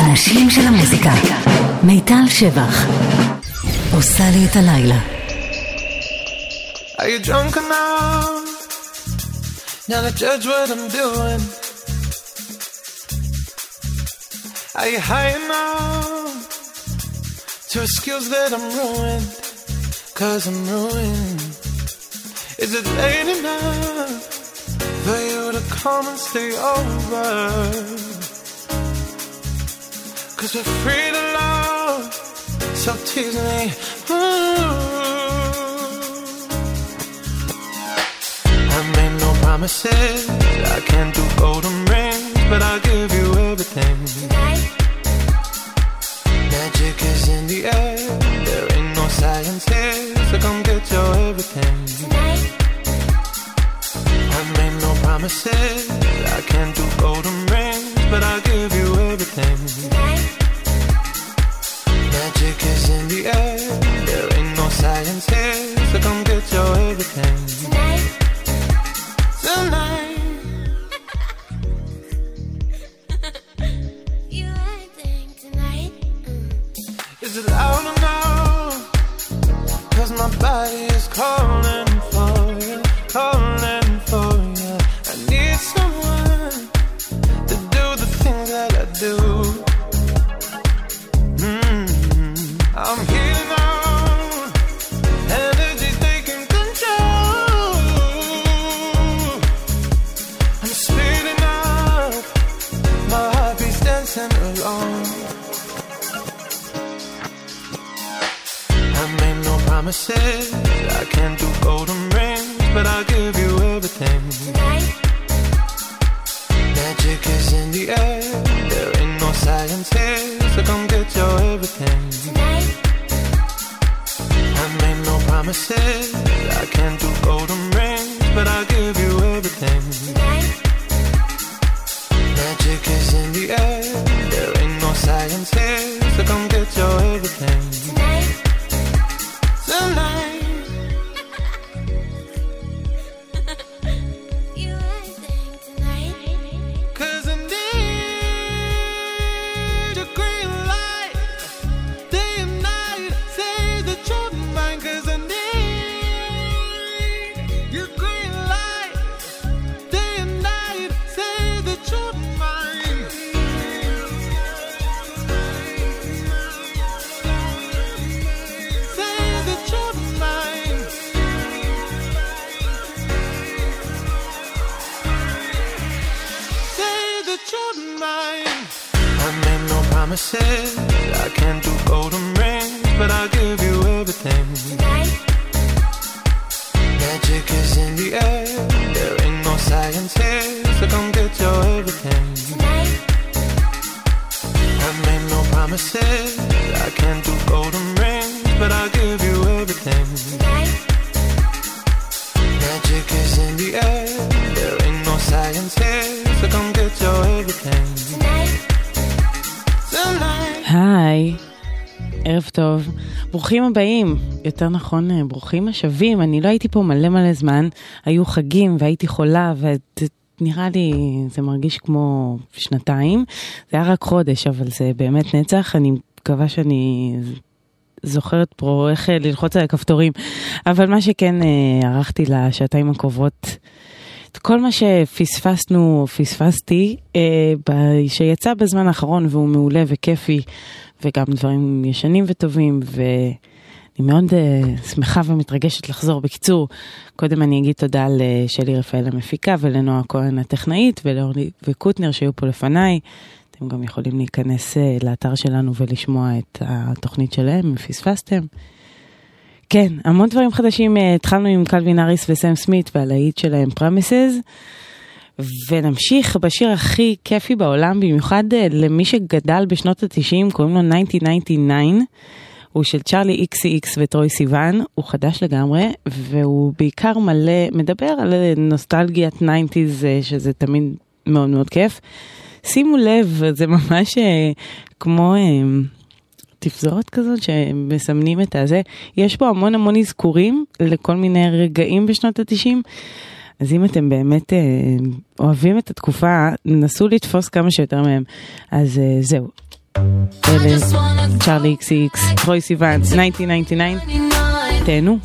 אנשים של המוזיקה. מיטל שבח עושה לי את הלילה. Are you drunk enough now to judge what I'm doing? Are you high enough to excuse that I'm ruined? 'Cause I'm ruined. Is it late enough for you to come and stay over? 'Cause we're free to love, so tease me. I made no promises, I can't do golden rings, but I'll give you everything. Tonight. Magic is in the air, there ain't no science here, so come get your everything. Tonight. I made no promises, I can't do golden rings, but I'll give you everything. Tonight. Magic is in the air, there ain't no science here, so come get your everything. Tonight. Tonight. You acting tonight. Is it loud enough? 'Cause my body is calling for you, calling for you. I need someone to do the things that I do. I'm healing on, energy's taking control. I'm speeding up, my heart beats dancing alone. I made no promises, I can't do golden rings, but I'll give you everything. Tonight. Magic is in the air, there ain't no science here, so come get your everything. Tonight. I made no promises, I can't do golden rings, but I'll give you everything. Tonight. Magic is in the air, there ain't no science here, so come get your everything. Tonight. Tonight. You acting tonight. 'Cause I need a green light, day and night, say the truth of mine. 'Cause I need your green light, day and night, say the truth of mine. Say the truth of mine. Say the truth of mine. I made no promises, I can't do golden rings, but I'll give you everything. Tonight. Magic is in the air, there ain't no science here, so come get your everything. Tonight. I made no promises, I can't do golden rings, but I'll give you everything. Tonight. Magic is in the air, there ain't no science here, so come get your everything. Tonight. Tonight. היי, ערב טוב, ברוכים הבאים, יותר נכון ברוכים השבים. אני לא הייתי פה מלא זמן, היו חגים והייתי חולה ונראה לי זה מרגיש כמו שנתיים, זה היה רק חודש אבל זה באמת נצח. אני מקווה שאני זוכרת פה איך ללחוץ על הכפתורים, אבל מה שכן ערכתי לשעתיים הקרובות את כל מה פספסתי שיצא בזמן האחרון והוא מעולה וכיפי, וגם דברים ישנים וטובים, ואני מאוד שמחה ומתרגשת לחזור. בקיצור, קודם אני אגיד תודה לשלי רפאל המפיקה ולנועה כהן הטכנאית ולאורלי וקוטנר שהיו פה לפניי. אתם גם יכולים להיכנס לאתר שלנו ולשמוע את התוכנית שלהם אם פספסתם. כן, המון דברים חדשים. התחלנו עם קלווין האריס וסם סמית והלהיט שלהם Promises, ונמשיך בשיר הכי כיפי בעולם, במיוחד למי שגדל בשנות ה-90, קוראים לו 1999, הוא של צ'רלי XCX וטרוי סיוון, הוא חדש לגמרי, והוא בעיקר מדבר על נוסטלגיית 90s, שזה תמיד מאוד מאוד כיף. שימו לב, זה ממש כמו תפזורת כזאת שמסמנים את הזה. יש פה המון אזכורים לכל מיני רגעים בשנות ה-90, אז אם אתם באמת אוהבים את התקופה, נסו לתפוס כמה שיותר מהם. אז זהו. אלה צ'ארלי XCX, טרוי סיוון, 1999, תהנו.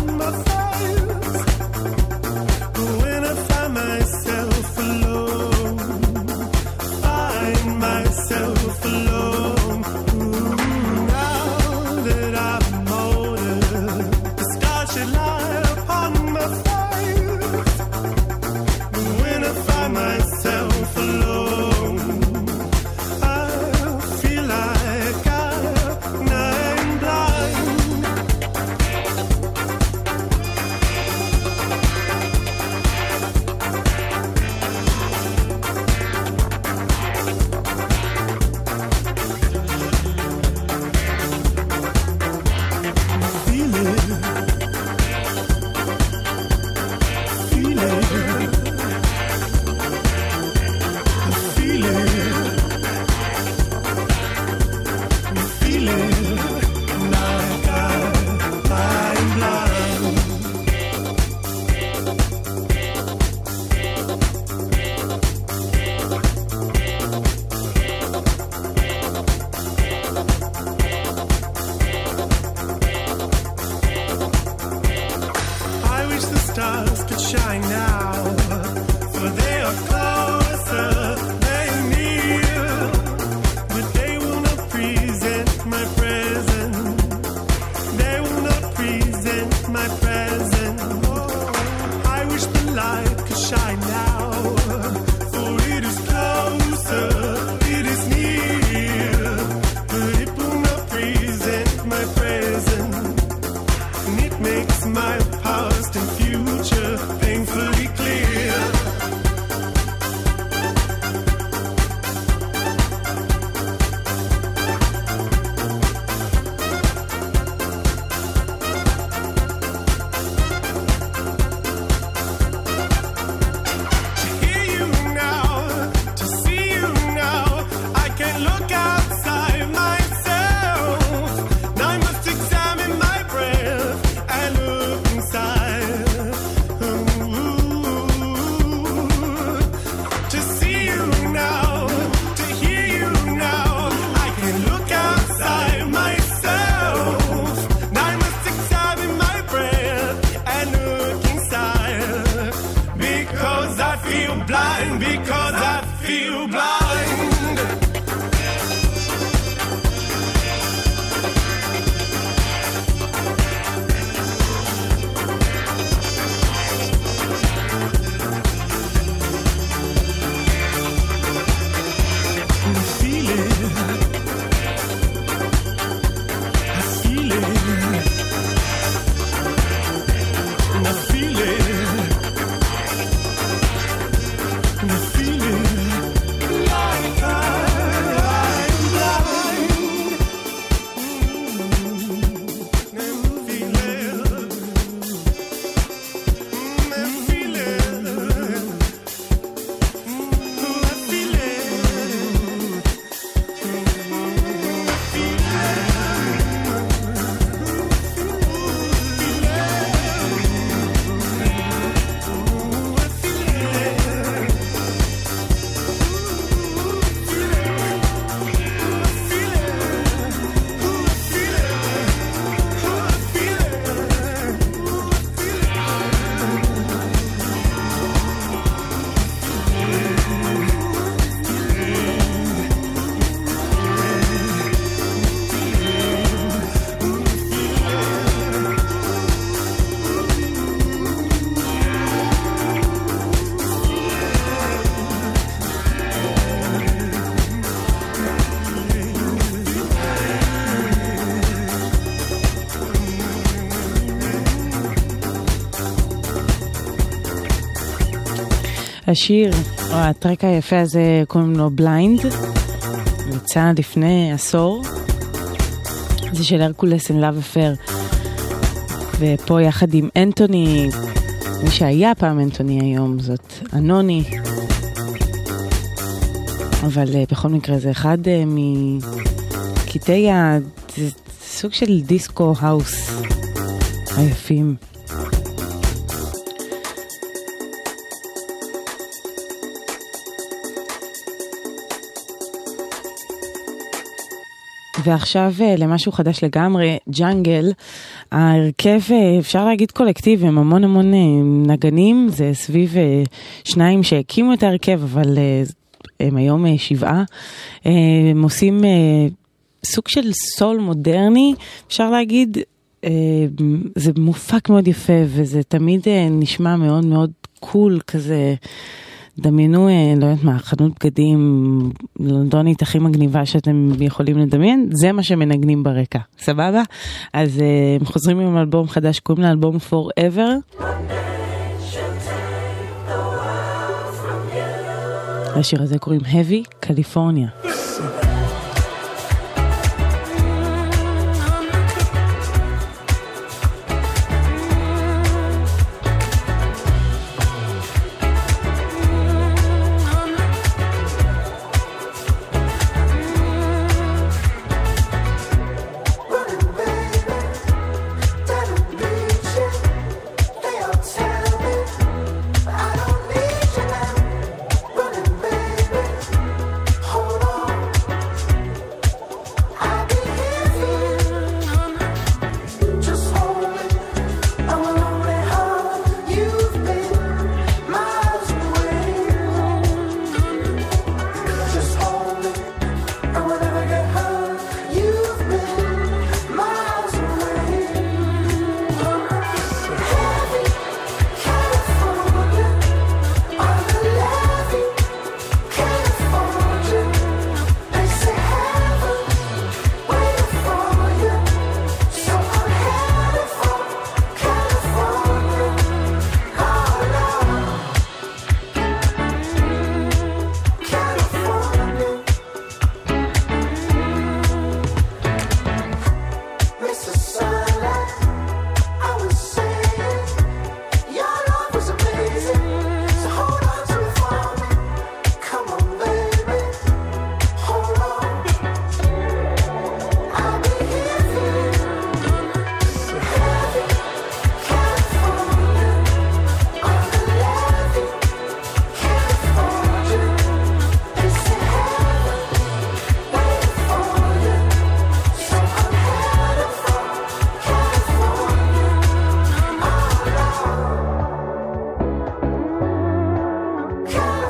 When I find myself alone blind because I feel blind. השיר, או הטרק היפה הזה, קוראים לו בליינד, יצא לפני עשור, זה של הרקולס and Love Affair, ופה יחד עם אנטוני, מי שהיה פעם אנטוני היום, זאת אנוני, אבל בכל מקרה זה אחד מקטעי סוג של דיסקו האוס היפים. ועכשיו למשהו חדש לגמרי, ג'אנגל, ההרכב, אפשר להגיד קולקטיב, הם המון נגנים, זה סביב שניים שהקימו את ההרכב, אבל הם היום 7, הם עושים סוג של סול מודרני, אפשר להגיד, זה מופק מאוד יפה, וזה תמיד נשמע מאוד מאוד קול כזה, דמיינו, לא יודעת מה, חנות בגדים לונדונית הכי מגניבה שאתם יכולים לדמיין, זה מה שמנגנים ברקע, סבבה? אז הם חוזרים עם אלבום חדש, קוראים לאלבום Forever. השיר הזה קוראים Heavy California. Hold on.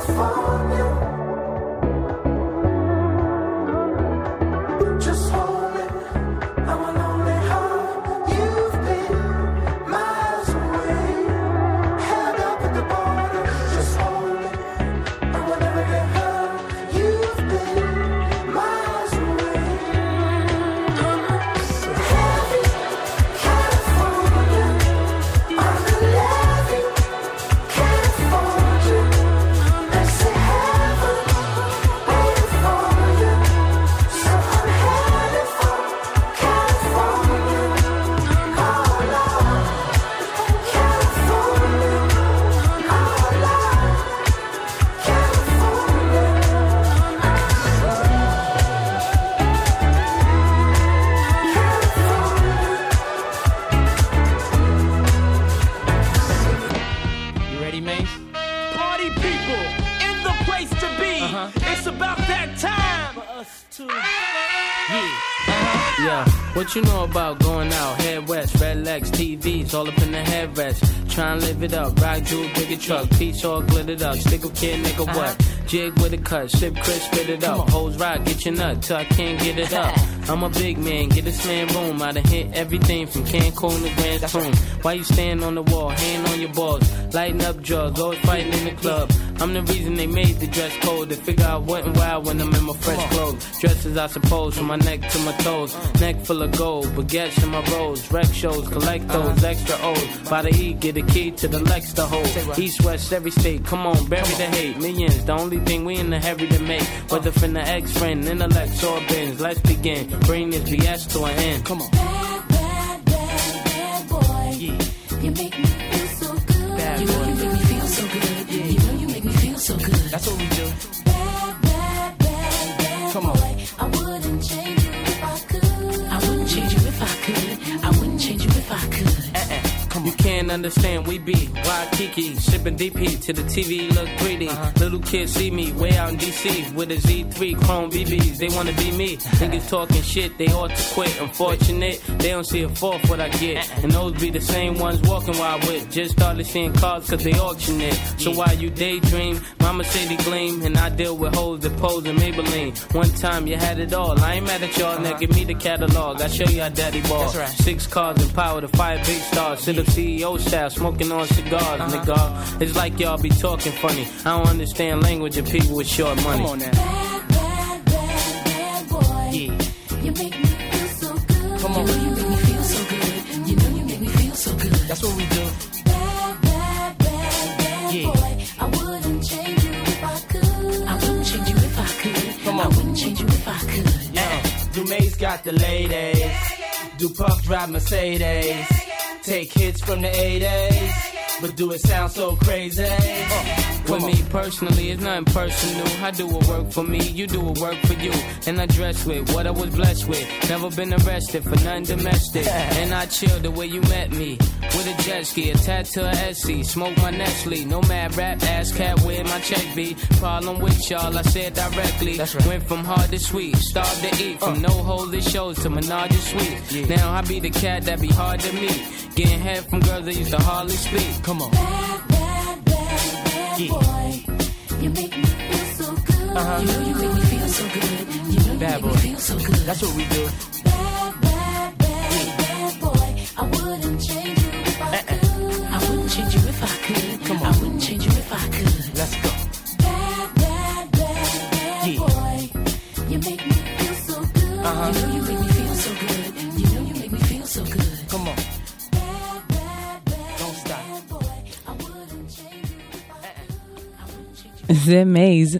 What you know about going out, head west, red legs, TVs, all up in the headrest. Try and live it up, rock jewel, bigger truck, piece all glittered up, stick a kid, nigga what? Jig with a cut, sip Chris, spit it up, hoes rock, get your nut till I can't get it up. I'm a big man, get this man room, I done hit everything from Cancun to Grand Tune. Why you stand on the wall, hand on your balls, lighting up drugs, always fighting in the club. I'm the reason they made the dress code, to figure out what and why when I'm in my fresh clothes. Dresses I suppose, from my neck to my toes, neck full of gold, baguettes in my rolls, rec shows, collect those extra O's. By the E, get a key to the Lex to hold. East, west, every state, come on, bury the hate. Millions, the only thing we in the hurry to make. Whether from the ex-friend, intellect, or bins, let's begin. Bring this BS to an end. Come on. Bad, bad, bad, bad boy. Yeah. You make me feel so good. Bad you know boy. You make me feel so good. Yeah. You know you make me feel so good. That's what we do. Bad, bad, bad, bad Come boy. on. I wouldn't change you if I could. I wouldn't change you if I could. I wouldn't change you if I could. You can't understand, we be Waikiki, sipping DP to the TV look greedy. Little kids see me way out in DC with a Z3 chrome BBs. They wanna be me. Niggas talking shit, they ought to quit. Unfortunate, they don't see a fourth what I get. And those be the same ones walking while I with. Just started seeing cars cause they auction it. So while you daydream, mama say they gleam, and I deal with hoes that pose in Maybelline. One time you had it all, I ain't mad at y'all. Now give me the catalog, I show you how daddy ball. 6 cars and power to 5 big stars. Sit up CEO style, smoking on cigars, nigga. It's like y'all be talking funny. I don't understand language of people with short money. Come on now. Bad, bad, bad, bad boy. Yeah. You make me feel so good. Come on. You know you make me feel so good. You know you make me feel so good. That's what we do. Bad, bad, bad, bad Yeah. boy. I wouldn't change you if I could. I wouldn't change you if I could. Come on. I wouldn't change you if I could. Yeah. Dumaze got the ladies. Do Puff drive Mercedes. Take hits from the 80s, but do it sound so crazy? With me personally, it's nothing personal. I do what work for me, you do what work for you. And I dress with what I was blessed with. Never been arrested for nothing domestic. And I chill the way you met me. With a jet ski, attached to a SC. Smoke my Nestle, no mad rap, ass cat where my check be. Problem with y'all, I said directly. Went from hard to sweet, starved to eat. From no holy shows to Menage and Sweet. Now I be the cat that be hard to meet. Getting head from girls that used to hardly speak. Come on. Bad, bad, bad, bad boy. You make me feel so good. You know you make me feel so good. You know you Bad make boy. me feel so good. That's what we do. Bad, bad, bad, bad boy. I wouldn't change you if I could. I wouldn't change you if I could. Come on. I wouldn't change you if I could. Let's go. Bad, bad, bad, bad Yeah. boy. You make me feel so good. You know you make me feel so good. You know you make me feel so good. Come on. Bad, bad, bad, Don't stop. bad boy. I wouldn't change you if I could. I wouldn't change you. זה מייז,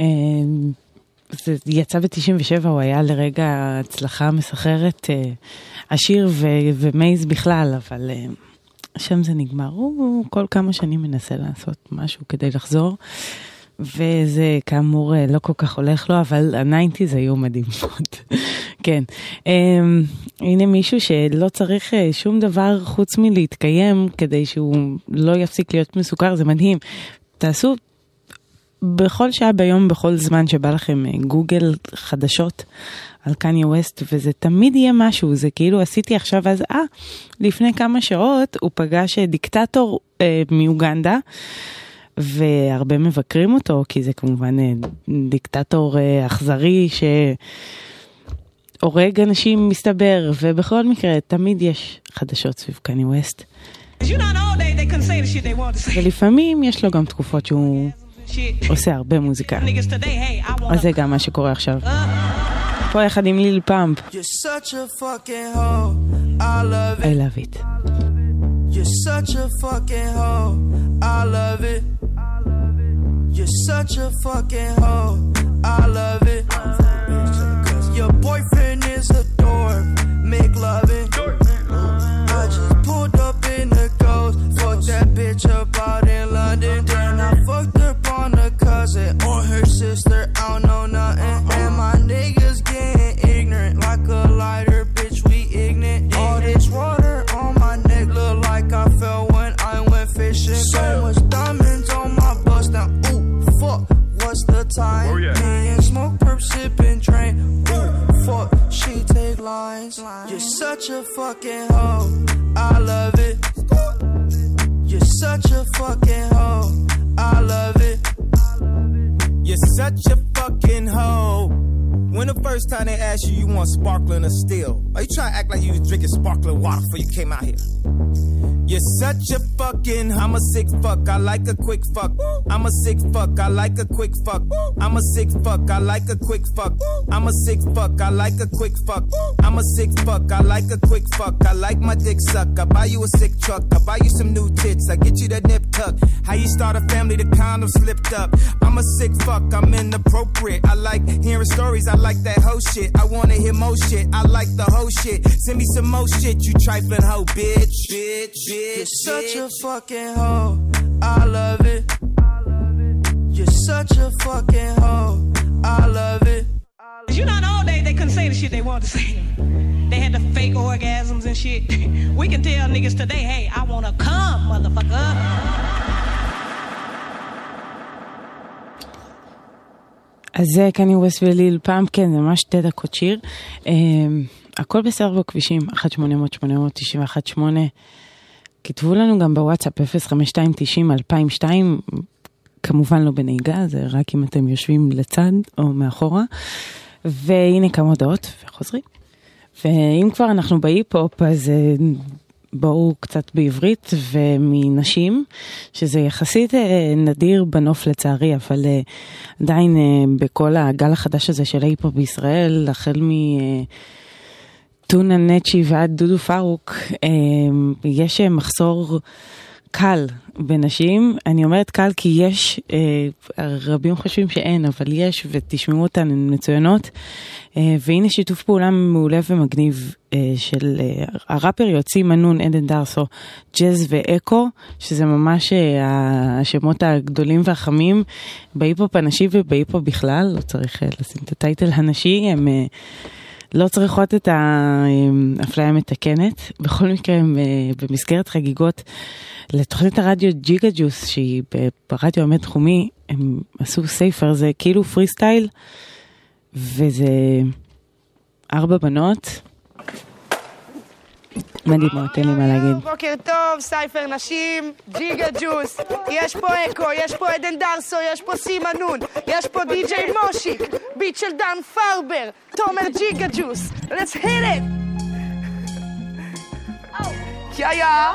זה יצא ב-97, הוא היה לרגע הצלחה מסחררת, השיר ומייז בכלל, אבל שם זה נגמר. הוא כל כמה שנים מנסה לעשות משהו כדי לחזור, וזה כאמור לא כל כך הולך לו, אבל ה-90s היו מדהים מאוד. כן. הנה מישהו שלא צריך שום דבר חוץ מלהתקיים כדי שהוא לא יפסיק להיות מסוכר, זה מדהים. תעשו בכל שעה ביום, בכל זמן שבא לכם גוגל חדשות על קניה ווסט, וזה תמיד יהיה משהו, זה כאילו עשיתי עכשיו אז, לפני כמה שעות הוא פגש דיקטטור מאוגנדה, והרבה מבקרים אותו, כי זה כמובן דיקטטור אכזרי שהורג אנשים מסתבר, ובכל מקרה תמיד יש חדשות סביב קני ווסט. ולפעמים יש לו גם תקופות שהוא עושה הרבה מוזיקה. אז זה גם מה שקורה עכשיו. פה יחד עם ליל פאמפ. I love it. You're such a fucking hoe. I love it. You're such a fucking hoe. I love it. Your boyfriend is a dork. Make loving. I just pulled up in the ghost. Fucked that bitch up out in London. Then I fucked up on a cousin or her sister. I don't know nothing. And my niggas getting ignorant like a lighter. Bitch, we ignorant. All this water on my neck look like I fell when I went fishing. So much diamonds on my bust now. Ooh, fuck, what's the time? Me and smoke, perp, sipping, drain. Ooh, fuck, she take lines. You're such a fucking hoe. I love it. You're such a fucking hoe. I love it. You're such a fucking hoe. When the first time they asked you, you want sparkling or still? Are you trying to act like you was drinking sparkling water before you came out here? You're such a fucking, I'm a sick fuck, I like a quick fuck. I'm a sick fuck, I like a quick fuck. I'm a sick fuck, I like a quick fuck. I'm a sick fuck, I like a quick fuck. I'm a sick fuck, I like a quick fuck. I like my dick suck, I buy you a sick truck. I buy you some new tits, I get you that nip tuck. How you start a family, the condom slipped up. I'm a sick fuck, I'm inappropriate. I like hearing stories, I like that hoe shit. I wanna hear more shit, I like the whole shit. Send me some more shit, you trifling hoe, bitch. You're such a fucking hoe. I love it. You're such a fucking hoe. I love it. You know, in the old days they couldn't say the shit they wanted to say. They had the fake orgasms and shit. We can tell niggas today, hey, I wanna come, motherfucker. אז זה קני ווסט וליל פאמפ, כן, זה ממש 2 דקות שיר. הכל בסדר בכבישים, 1-800-891-8. כתבו לנו גם בוואטסאפ 05290-2002, כמובן לא בנהיגה, זה רק אם אתם יושבים לצד או מאחורה. והנה כמה הודעות, וחוזרים. ואם כבר אנחנו בהיפ-הופ, אז בואו קצת בעברית ומנשים, שזה יחסית נדיר בנוף לצערי, אבל עדיין בכל הגל החדש הזה של ההיפ-הופ בישראל, החל טונה נצ'י ועד דודו פרוק, יש מחסור קל בנשים. אני אומרת קל כי יש, רבים חושבים שאין, אבל יש, ותשמעו אותן, הן מצוינות. והנה שיתוף פעולה מעולה ומגניב של הראפר יוציא מנון, עדן דרסו, ג'אז ואקו, שזה ממש השמות הגדולים והחמים בהיפ-הופ הנשי ובהיפ-הופ בכלל. לא צריך לשים את הטייטל הנשי, הם לא צריכות את האפליה המתקנת. בכל מקרה, במסגרת חגיגות לתוכנית הרדיו ג'יגה ג'וס, שהיא ברדיו המתחומי, הם עשו סייפר, זה כאילו פרי סטייל, וזה 4 בנות. מדהימות, אין לי מה להגיד. בוקר טוב, סייפר נשים, ג'יגה ג'וס. יש פה אקו, יש פה עדן דרסו, יש פה סימנון, יש פה די.ג'יי מושיק, ביט של דן פרבר, תומר ג'יגה ג'וס. Let's hit it! יאיה!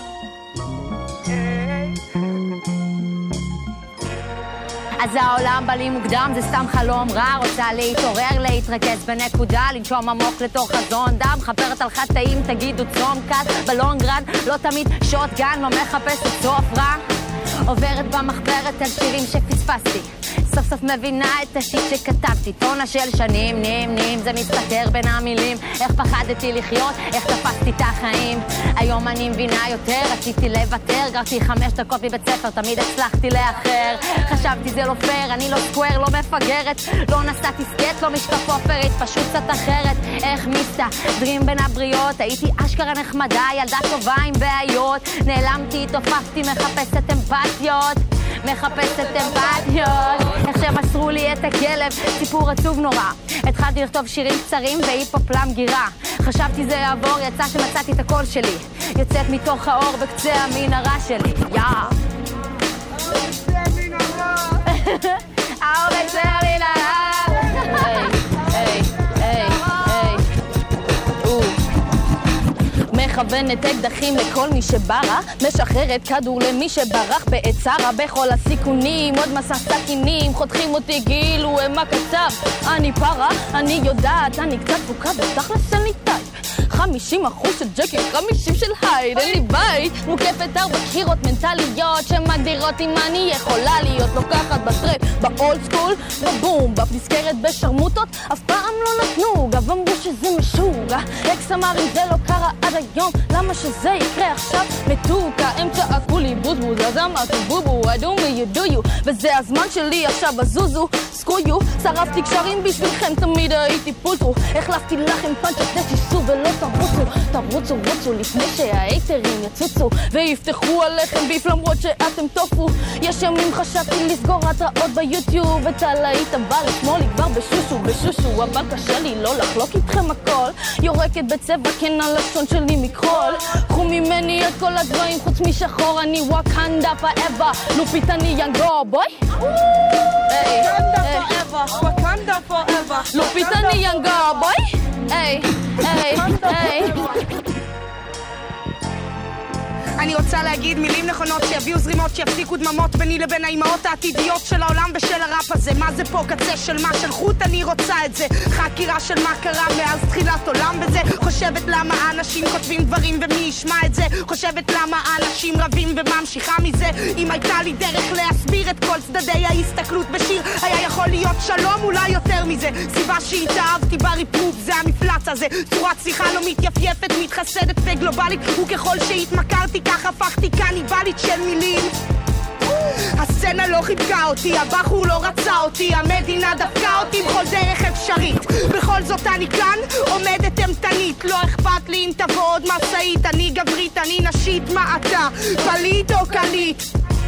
אז העולם בא לי מוקדם, זה סתם חלום רע, רוצה להתעורר, להתרכז בנקודה, לנשום עמוק לתוך חזון דם, חפרת על חטאים, תגידו צום קט, בלונגרן, לא תמיד שוטגן, לא מחפשת סוף רע, עוברת במחברת על שירים שפספסתי, סוף סוף מבינה את השיט שכתבתי, טונה של שנים, נים, זה מסתתר בין המילים, איך פחדתי לחיות, איך תפסתי את החיים, היום אני מבינה יותר, רציתי לוותר, גרתי 5 דקות מבית ספר, תמיד הצלחתי לאחר, חשבתי זה לא פייר, אני לא סקוואר, לא מפגרת, לא נסעתי סקט, לא משקף אופרית, פשוט קצת אחרת, איך מסתדרים בין הבריות, הייתי אשכרה נחמדה, ילדה טובה עם בעיות, נעלמתי, תופפתי, מחפשת אמפתיות, מחפשת אמפתיות, איך שמסרו לי את הכלב, סיפור עצוב נורא, התחלתי לכתוב שירים קצרים והיפ-הופ למגירה, חשבתי זה יעבור, יצא שמצאתי את הקול שלי, יוצאת מתוך האור בקצה המנהרה שלי, מכוונת אקדחים לכל מי שברה, משחררת כדור למי שברח בעת צרה, בכל הסיכונים עוד מסע סכינים, חותכים אותי כאילו הם הקצב. אני פרה, אני יודעת, אני קצת פוקה בתכלס אני טייפ, 50% של ג'קי, 50 של הייד, אין לי בית, מוקפת 4 קירות מנטליות שמגדירות אם אני יכולה להיות לוקחת בטרפ, באולד סקול, בבום, בפנזכרת בשרמוטות, אף פעם לא נתנו, גם אמרו שזה משוגע, אקס אמר אם זה לא קרה עד היום, למה שזה יקרה עכשיו מתוקה, הם צעקו לי בוזבוז, אז אמרתי בובו, I do me, you do you, וזה הזמן שלי עכשיו הזוזו, סקויו, שרפתי קשרים בשבילכם, תמיד הייתי פולטרו, החלפתי לכם פנצ'ת נשיסו ולא תרוצו, רוצו לפני שהאייטרים יצוצו ויפתחו עליכם ביף למרות שאתם טופו. יש ימים חשבתי לסגור התראות ביוטיוב, את הלהיט הבא לשמאל לי כבר בשושו, אבל קשה לי לא לחלוק איתכם הכל, יורקת בצבע כן הלשון שלי מקרול, קחו ממני את כל הדברים חוץ משחור, אני וואקנדה forever, לופית אני ינגו בוי וואקנדה forever, לופית אני ינגו בוי היי אני רוצה להגיד מילים נכונות שיביאו זרימות, שיפסיקו דממות ביני לבין האימהות העתידיות של העולם ושל הראפ הזה. מה זה פה קצה של מה של חוט? אני רוצה את זה, חקירה של מה קרה מאז תחילת עולם בזה. חושבת למה אנשים כותבים דברים ומי ישמע את זה, חושבת למה אנשים רבים וממשיכה מזה. אם הייתה לי דרך להסביר את כל צדדי ההסתכלות בשיר, היה יכול להיות שלום, אולי יותר מזה. סיבה שהתאהבתי בריפרוב זה המפלץ הזה, צורת שיחה לא מתייפייפת, מתחסדת וגלובלית, וככל שהתמכרתי כך הפכתי קניבלית של מילים. הסצנה לא חיבקה אותי, הבחור לא רצה אותי, המדינה דפקה אותי בכל דרך אפשרית. בכל זאת אני כאן, עומדת אמתנית, לא אכפת לי אם תבוא עוד מסעית. אני גברית, אני נשית, מה אתה? פליט או קליט?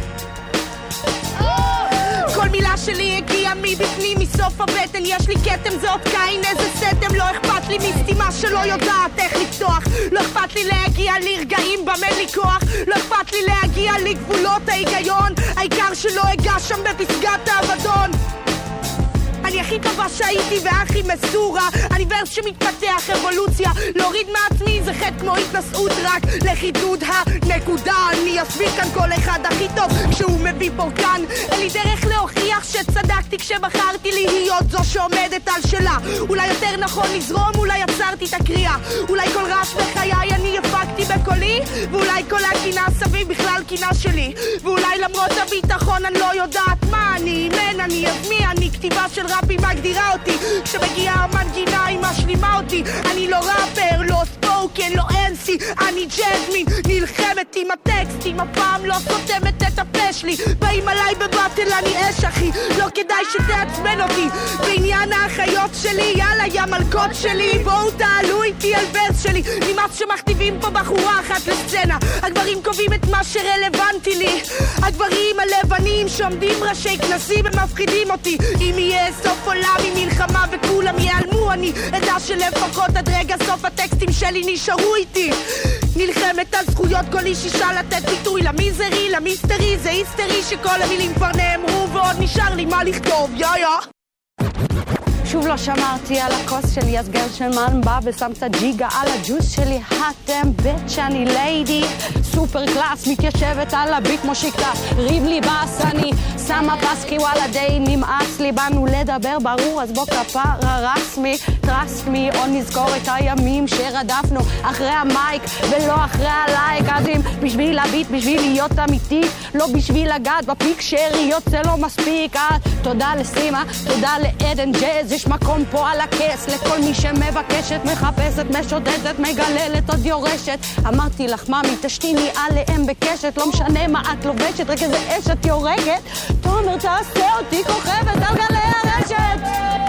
כל מילה שלי הגיעה מבפנים, מסוף הבטן, יש לי קטם, זה עוד קין, איזה סתם. לא אכפת לי מסתימה שלא יודעת איך לפתוח, לא אכפת לי להגיע לרגעים במה לי כוח, לא אכפת לי להגיע לגבולות ההיגיון, העיקר שלא אגע שם בפסגת האבדון. אני הכי טובה שהייתי והכי מסורה, אני ורס שמתפתח אבולוציה, להוריד מעצמי זה חטא כמו התנסות, רק לחידוד הנקודה. אני אסביר כאן כל אחד הכי טוב כשהוא מביא פורקן, אין לי דרך להוכיח שצדקתי כשבחרתי להיות זו שעומדת על שלה. אולי יותר נכון לזרום, אולי עצרתי את הקריאה, אולי כל רעש בחיי אני הפקתי בקולי, ואולי כל הקינה סביב בכלל קינה שלי, ואולי למרות הביטחון אני לא יודעת מה אני, מן אני מי אני, כתיבה של ראפי מגדירה אותי, כשמגיעה המנגינה היא משלימה אותי. אני לא ראפר, לא ספוקן, לא אנסי, אני ג'זמין, נלחמת עם הטקסטים, הפעם לא סותמת את הפה שלי, באים עליי בבטל אני אש אחי, לא כדאי שתעצבן אותי בעניין האחיות שלי, יאללה יא מלכות שלי, בואו תעלו איתי על ורס שלי, נמאס שמכתיבים פה בחורה אחת לסצנה, הגברים קובעים את מה שרלוונטי לי, הגברים הלבנים שעומדים ראשי כנסים הם מפחידים אותי. אם יהיה סוף עולם עם מלחמה וכולם ייעלמו, אני אדע שלפחות עד רגע סוף הטקסטים שלי נשארו איתי. נלחמת על זכויות כל איש אישה לתת ביטוי למיזרי, למיסטרי, זה היסטרי שכל המילים כבר נאמרו ועוד נשאר לי מה לכתוב, שוב לא שמרתי על הכוס שלי, אז גרשמן בא ושם את הג'יגה על הג'וס שלי. הטם ביץ' אני ליידי סופר קלאס, מתיישבת על הביט כמו שיקטה ריב לי בס, אני שמה פסקי וואלה די נמאס לי, באנו לדבר ברור אז בוא כפרה רסמי טרסט מי, או נזכור את הימים שרדפנו אחרי המייק ולא אחרי הלייק, אז אם בשביל הביט, בשביל להיות אמיתי, לא בשביל לגעת בפיק שריות זה לא מספיק. תודה לסימה, תודה לעדן ג'אז, יש מקום פה על הכס לכל מי שמבקשת, מחפשת, משודדת, מגללת, עוד יורשת. אמרתי לך ממי תשתיני עליהם בקשת, לא משנה מה את לובשת, רק איזה אשת יורגת. תומר תעשה אותי כוכבת על גלי הרשת.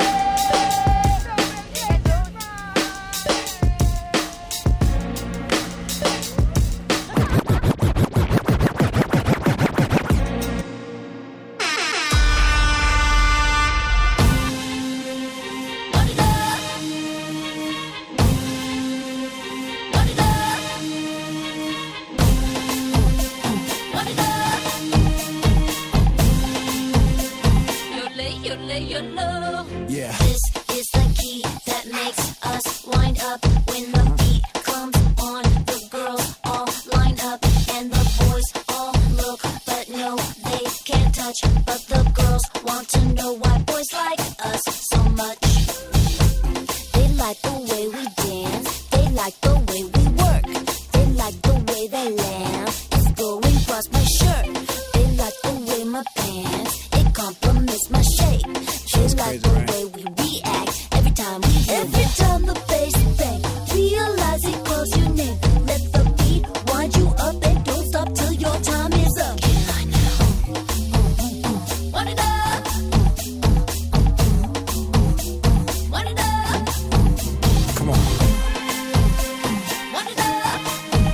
Yeah. This is the key that makes us wind up when the beat comes on. The miss my shape. They like the way we react every time we hear every time the bass bang. Realize it calls your name. Let the beat wind you up and don't stop till your time is up. Wind it up. Wind it up. Come on. Wind it up.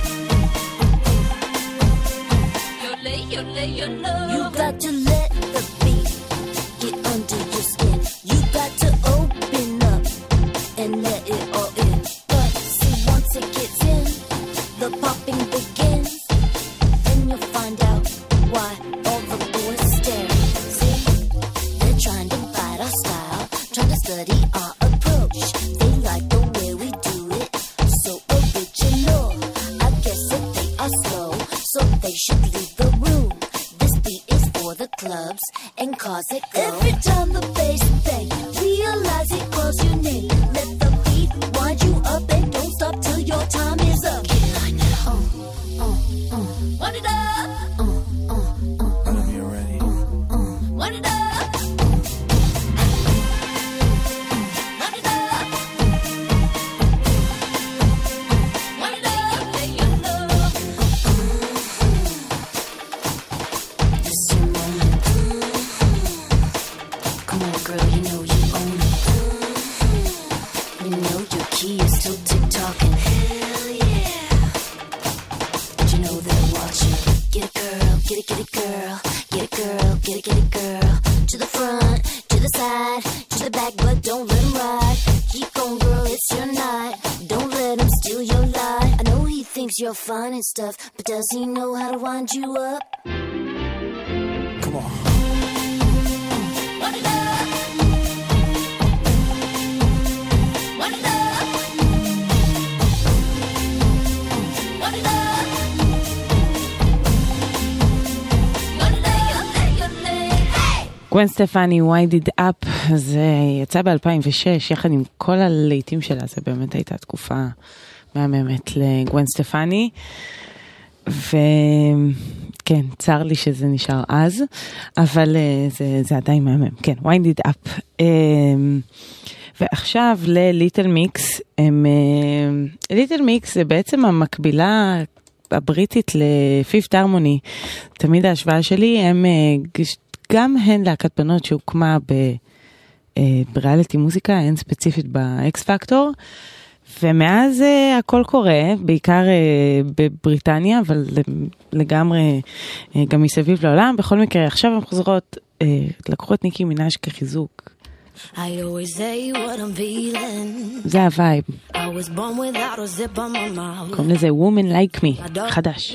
You got to let the beat get under your skin. You got to open up and let it all in. But see, once it gets in, the popping begins. Then you'll find out why all the boys stare. See, they're trying to bite our style, trying to study our approach. They like the way we do it, so original. I guess that they are slow, so they should leave the room. This beat is for the clubs and cars that go. Every time the bass bang, realize it calls your name. Let the beat wind you up and don't stop till your time is up. Wind it up. Whenever you're ready. Wind it up. Wind it up. Wind it up. This is your moment. Come on, girl, you know you own it. You know your key is still tick-tocking. Hell yeah. But you know they're watching. Get it, girl, get it, girl. Get it, girl, get it, girl. To the front, to the side, to the back, but don't let him ride. Keep going, girl, it's your night. Don't let him steal your light. I know he thinks you're fine and stuff, but does he know how to wind you up? Come on. Wind it up. Wind it up. Wind it up. גוון סטפני, Wind It Up, זה יצא ב-2006, יחד עם כל הלהיטים שלה, זה באמת הייתה תקופה מהממת לגוון סטפני, וכן, צר לי שזה נשאר אז, אבל זה עדיין מהמם, כן, Wind It Up. ועכשיו לליטל מיקס, ליטל מיקס זה בעצם המקבילה הבריטית לפיפט הרמוני, תמיד ההשוואה שלי, הם גם הן להקת בנות שהוקמה בריאליטי מוזיקה, הן ספציפית באקס פקטור, ומאז הכל קורה, בעיקר בבריטניה, אבל לגמרי גם מסביב לעולם. בכל מקרה, עכשיו הן חוזרות, לקחו את ניקי מנאז' כחיזוק. I always say what I'm feeling. זה הווייב. I was born without a zip on my mouth. קוראים לזה Woman Like Me, חדש.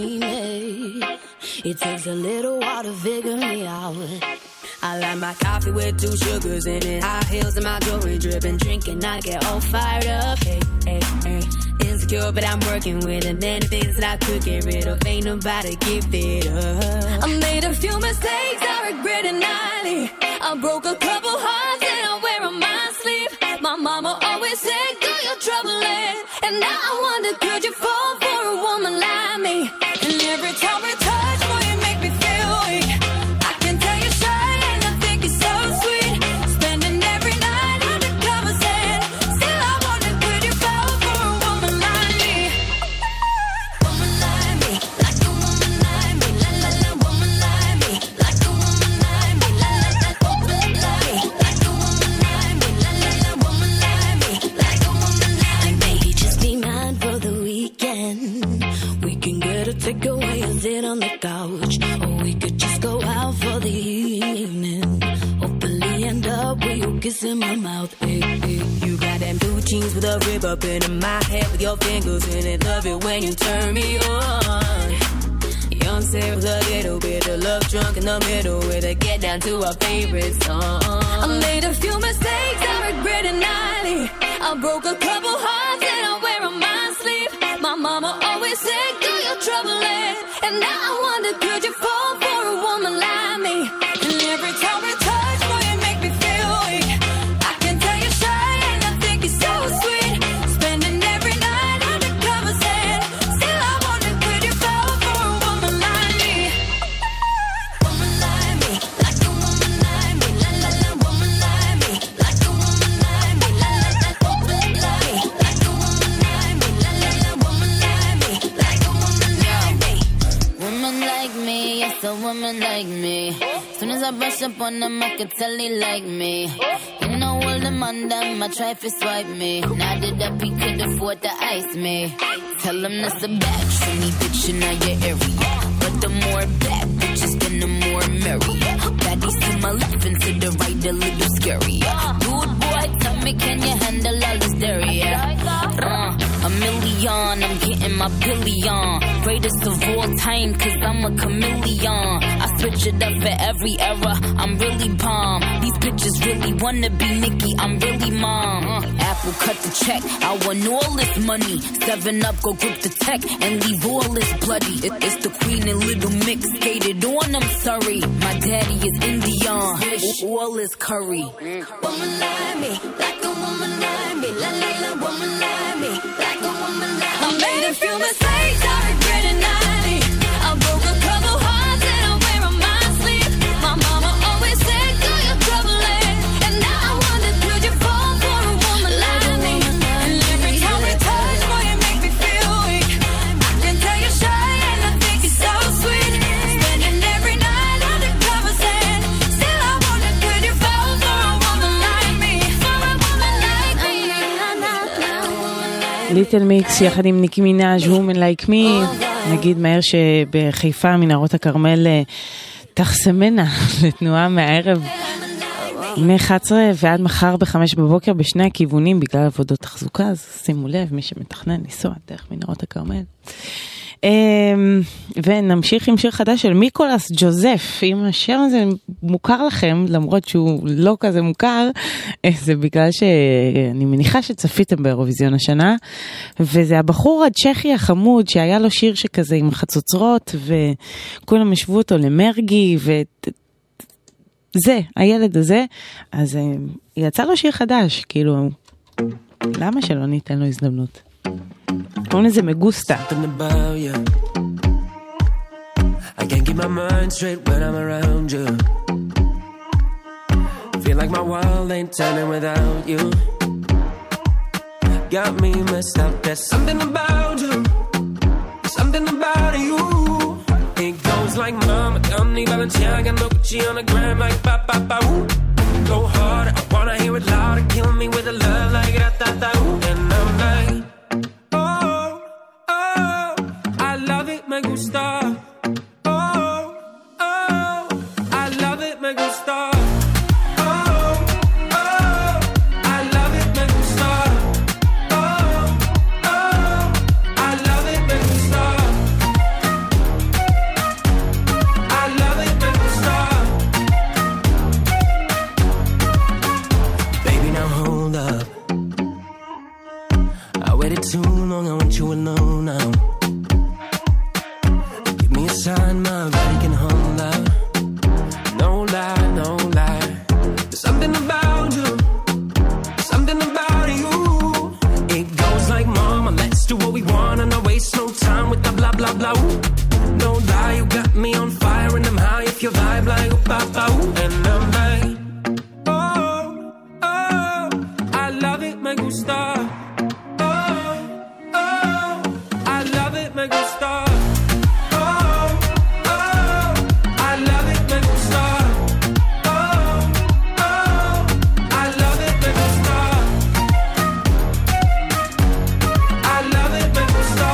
It takes a little while to figure me out. I like my coffee with 2 sugars in it. High heels and my jewelry dripping. Drinking, I get all fired up. Hey, hey, hey. Insecure, but I'm working with it. Many things that I could get rid of. Ain't nobody give it up. I made a few mistakes I regret it nightly. I broke a couple hearts and I wear on my sleeve. My mama always said, do your troubling. And now I wonder, could you fall for a woman like me? And every time we touch, boy, you make me feel weak. I can tell you're shy and I think you're so sweet. Spending every night undercover saying, still I wonder, could you fall for a woman like me? Woman like me, like a woman like me, la la la. Woman like me, like a woman like me, la la la. Woman like me, like a woman like me, la la la. Woman like me, like a woman like me. Just be mine for the weekend. We can get a takeaway and sit on the couch, or we could just go out for the evening. Hopefully end up with you kissing my mouth. Hey, hey. You got them blue jeans with a rib up in my head with your fingers in it. Love it when you turn me on. Young Sarah with a little bit of love drunk in the middle with a get down to our favorite song. I made a few mistakes I regret it nightly. I broke a couple hearts and I wear on my sleeve. My mama always said, do your troubling. And now I wonder, could you fall for a woman like me? And every time we touch, boy, you make me feel weak. I can tell you're shy and I think you're so sweet. Spending every night undercover saying, still I wonder, could you fall for a woman like me? Woman like me, like a woman like me. I brush up on them, I could tell he like me. You know all the man them, I try to swipe me. Now that up, he could afford to ice me. Tell him that's a bad trini bitch in your area. But the more bad bitches, then the more merry. Baddies to my left and to the right, a little scary. Dude, boy, tell me, can you handle all this dairy? A million, I'm getting my billion. Greatest of all time, cause I'm a chameleon. I switch it up for every era, I'm really bomb. These bitches really wanna be Nicki, I'm really mom. Apple cut the check, I want all this money. 7-Up, go grip the tech and leave all this bloody. It's the Queen and Little Mix, skated on, I'm sorry. My daddy is Indian, all is curry. Woman like me, like a woman like me. La la la, woman like me, like a woman like me. I made a few mistakes, I regret it nightly. I broke a couple hearts and I wear on my sleeve. My mama always said, do your troubling. And now I wonder, could you fall for a woman like me? And every time we touch, boy, you make me feel weak. I can tell you're shy and I think you're so sweet. Spending every night under covers and still I wonder, could you fall for a woman like me? For a woman like me. ליטל מיקס יחד עם ניקי מינאז' Woman Like Me. נגיד מהר שבחיפה מנהרות הכרמל תחסמנה לתנועה מהערב מ-11 ועד מחר ב-5 בבוקר בשני הכיוונים בגלל עבודות תחזוקה, אז שימו לב מי שמתכנן לנסוע דרך מנהרות הכרמל. ונמשיך עם שיר חדש של מיקולס ג'וזף. אם השיר הזה מוכר לכם, למרות שהוא לא כזה מוכר, זה בגלל שאני מניחה שצפיתם באירוויזיון השנה, וזה הבחור הצ'כי החמוד שהיה לו שיר שכזה עם חצוצרות, וכולם השוו אותו למרגי, זה, הילד הזה, אז יצא לו שיר חדש, כאילו, למה שלא ניתן לו הזדמנות? קוראים לזה מגוסטה. I can't keep my mind straight when I'm around you. Feel like my world ain't turning without you. Got me messed up. There's something about you. Something about you. It goes like mama, don't need Balenciaga, no Gucci on the gram like ba ba ba ooh. Go harder, I wanna hear it louder. Kill me with a love like da da da ooh. And I'm like, oh, oh, I love it, me gusta. Too long, I want you alone now. Give me a sign, my body can hold out. No lie, no lie. There's something about you, something about you. It goes like, mama, let's do what we want and I waste no time with the blah, blah, blah. Ooh. No lie, you got me on fire and I'm high if you vibe like ooh, ba, ba, ooh. And I'm like, oh, oh, I love it, me gusta. Me gusta. Oh, oh, I love it, me gusta. Oh, oh, I love it, me gusta. I love it, me gusta.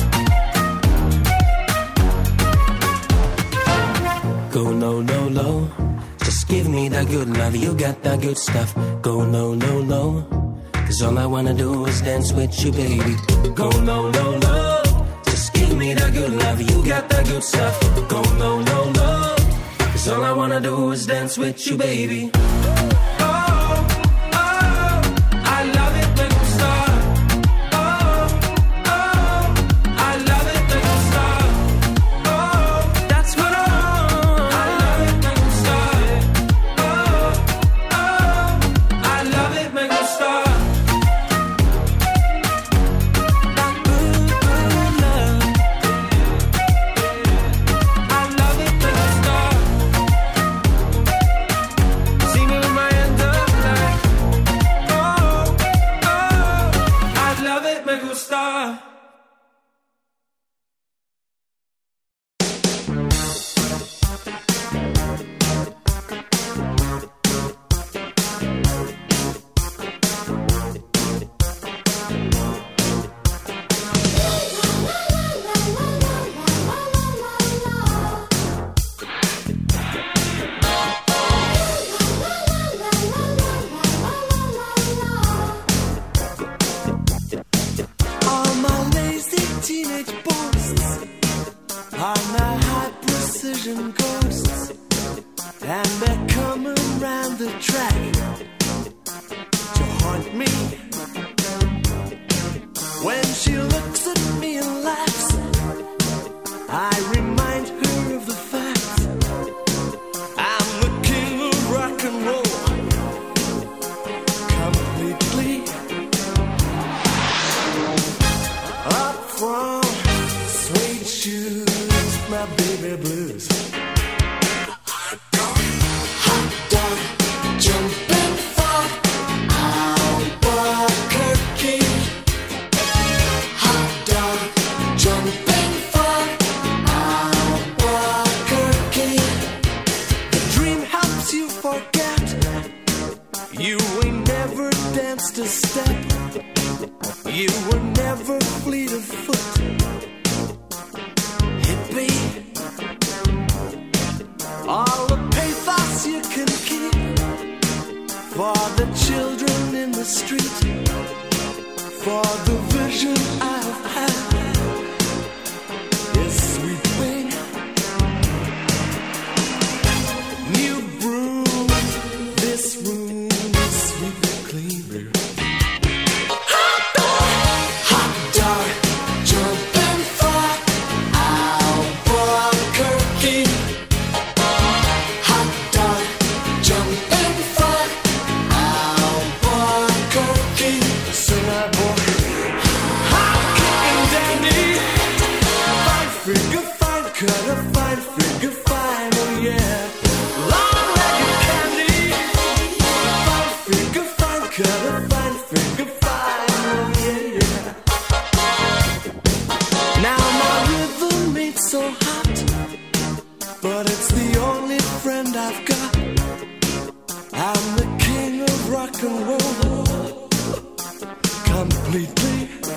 Go low, low, low. Just give me that good love. You got that good stuff. Go low, low, low. 'Cause all I wanna do is dance with you, baby. Go low, low, low. Give me that good love, you got that good stuff. Go low, low, low. 'Cause all I wanna do is dance with you, baby. Oh, oh, I love it, me gusta. Oh, oh, I love it, me gusta. Oh, that's what I love it, me gusta. Oh, oh, I love it, me gusta. See me the track to haunt me. When she looks at me and laughs, I remind her of the fact I'm the king of rock and roll, completely. Up from suede shoes, my baby blues. Hot dog, jumping for Albuquerque. Hot dog, jumping for Albuquerque. The dream helps you forget you ain't never danced a step. You were never fleet of foot, hippie. All the pathos you can keep for the children in the street, for the vision I've had is sweeping. New broom, this room is sweeping clean. Hot dog, jumping for Albuquerque. Hot dog, jumping for Albuquerque. Sinner boy, hot kicking dandy. Fine figure, fine cutter, fine figure, fine, oh yeah. Long-legged candy. Fine figure, fine cutter, fine figure, fine, oh yeah. Now my rhythm ain't so hot, but it's the only friend I've got. I'm the king of rock and roll, completely.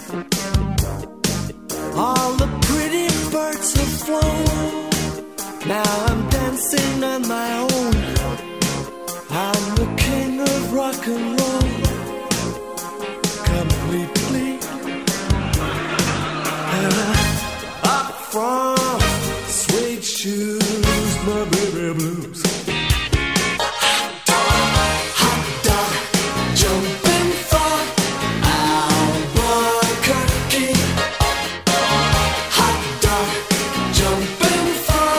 All the pretty birds have flown. Now I'm dancing on my own. I'm the king of rock and roll, completely. Up from suede shoes, my baby blues. Hot dog, jumping for Albuquerque. Hot dog, jumping for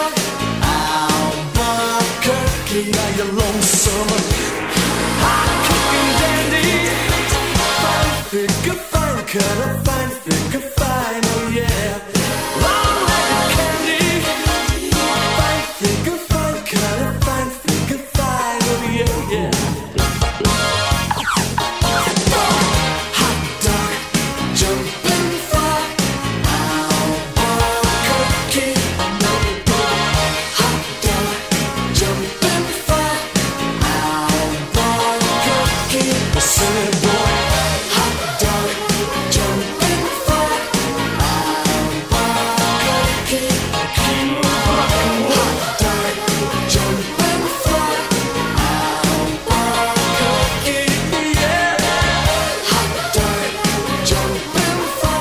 Albuquerque. Now you're lonesome, hot kicking dandy. Fine figure, fine cutter, fine figure, fine, oh yeah. Long-legged candy. Fine figure, fine cutter, fine figure, fine, oh yeah, yeah. Hot dog, jumping for Albuquerque. Hot dog, jumping for Albuquerque. Silly boy. Hot dog, jumping for Albuquerque. King of rock and roll. Hot dog, jumping for Albuquerque. Yeah. Hot dog, jumping for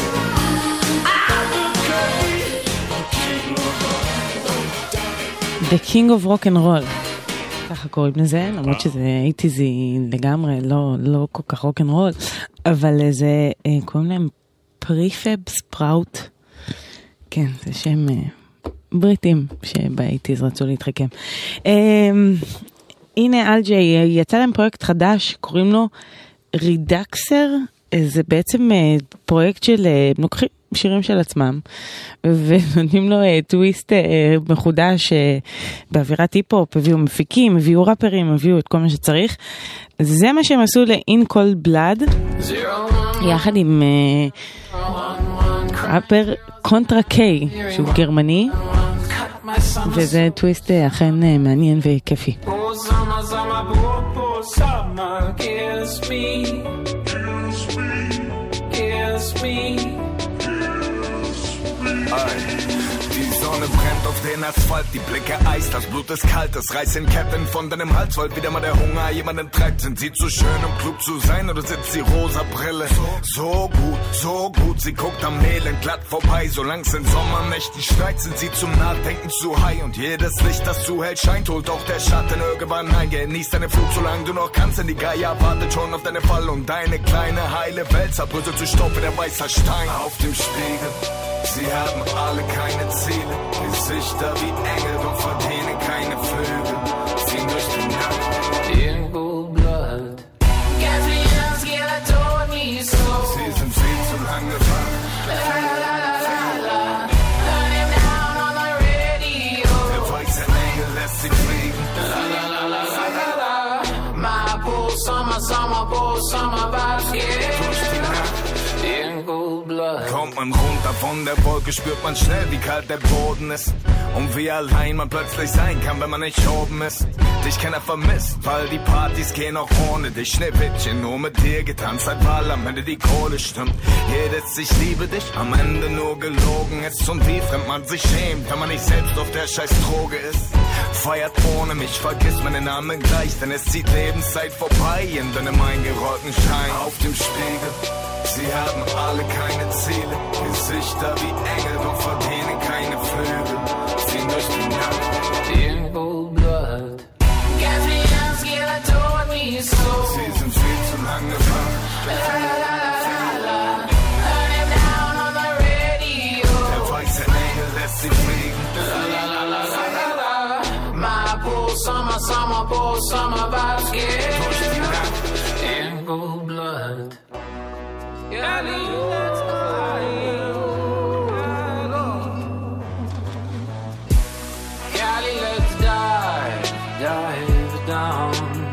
Albuquerque. The King of Rock and Roll. ככה קוראים לזה, למרות שזה איטיזי לגמרי, לא כל כך רוק אנד רול, אבל זה, קוראים להם פריפב ספראוט. כן, זה שם בריטים שבאיטיז רצו להתחכם. הנה אלג'יי, יצא להם פרויקט חדש, קוראים לו רידקסר, זה בעצם פרויקט של לוקחים שירים של עצמם ונותנים לו טוויסט מחודש באווירת היפ-הופ, הביאו מפיקים, הביאו ראפרים, הביאו את כל מה שצריך. זה מה שהם עשו ל-In Cold Blood יחד עם ראפר קונטרה קיי שהוא גרמני, וזה טוויסט אכן מעניין וכיפי. These Sonne brennt auf den Asphalt, die Blicke Eis, das Blut ist kalt, es reißt in Ketten von deinem Hals, wollt wieder mal der Hunger jemanden treibt. Sind sie zu schön, um klug zu sein, oder sitzt die rosa Brille? So gut, sie guckt am Elend glatt vorbei, solang's in Sommernächten schneit, sind sie zum Nachdenken zu high. Und jedes Licht, das zu hell scheint, holt auch der Schatten irgendwann ein. Genieß deine Flug, solange du noch kannst, denn die Geier wartet schon auf deine Fall. Und deine kleine heile Welt zerbröselt zu Staub wie der weißer Stein auf dem Spiegel. Sie haben alle keine Ziele, Gesichter wie Engel, doch verdienen keine Flügel. Ziehen durch die Nacht in Cold Blood. Sie sind viel zu lang gefangen. Der weiße Engel lässt sie fliegen. My poor summer vibes, yeah. Durch die Nacht in Cold Blood. Kommt man runter von der Wolke, spürt man schnell, wie kalt der Boden ist. Und wie allein man plötzlich sein kann, wenn man nicht oben ist. Dich keiner vermisst, weil die Partys gehen auch ohne dich. Schneewittchen, nur mit dir getanzt, seit weil am Ende die Kohle stimmt. Jedes ich liebe dich, am Ende nur gelogen ist. Und wie fremd man sich schämt, wenn man nicht selbst auf der scheiß Droge ist. Feiert ohne mich, vergiss meinen Namen gleich, denn es zieht Lebenszeit vorbei in deinem eingerollten Schein auf dem Spiegel. Sie haben alle keine Ziele, Gesichter wie Engel, doch verdienen keine Flügel. Ziehen durch die Nacht in Cold Blood. Sie sind viel zu lang gefangen. Der weiße Engel lässt sie fliegen. My poor summer vibes, yeah. Durch die Nacht in Cold Blood. Cali, let's dive down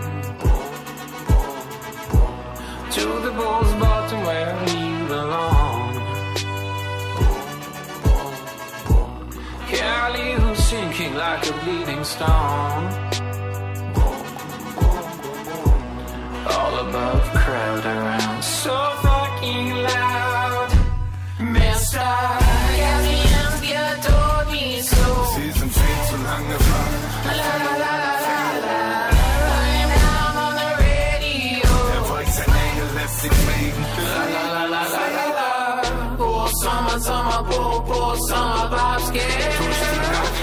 to the bull's bottom where you belong. Cali, who's sinking like a bleeding stone. All above, crowd around, so fucking loud. Mister, Galians get on me so. Sie sind viel zu lang gefangen. La la la la la. I'm down on the radio. Der weiße Engel lässt sie fliegen. La la la la la la. Poor summer, poor summer vibes get. Durch die Nacht.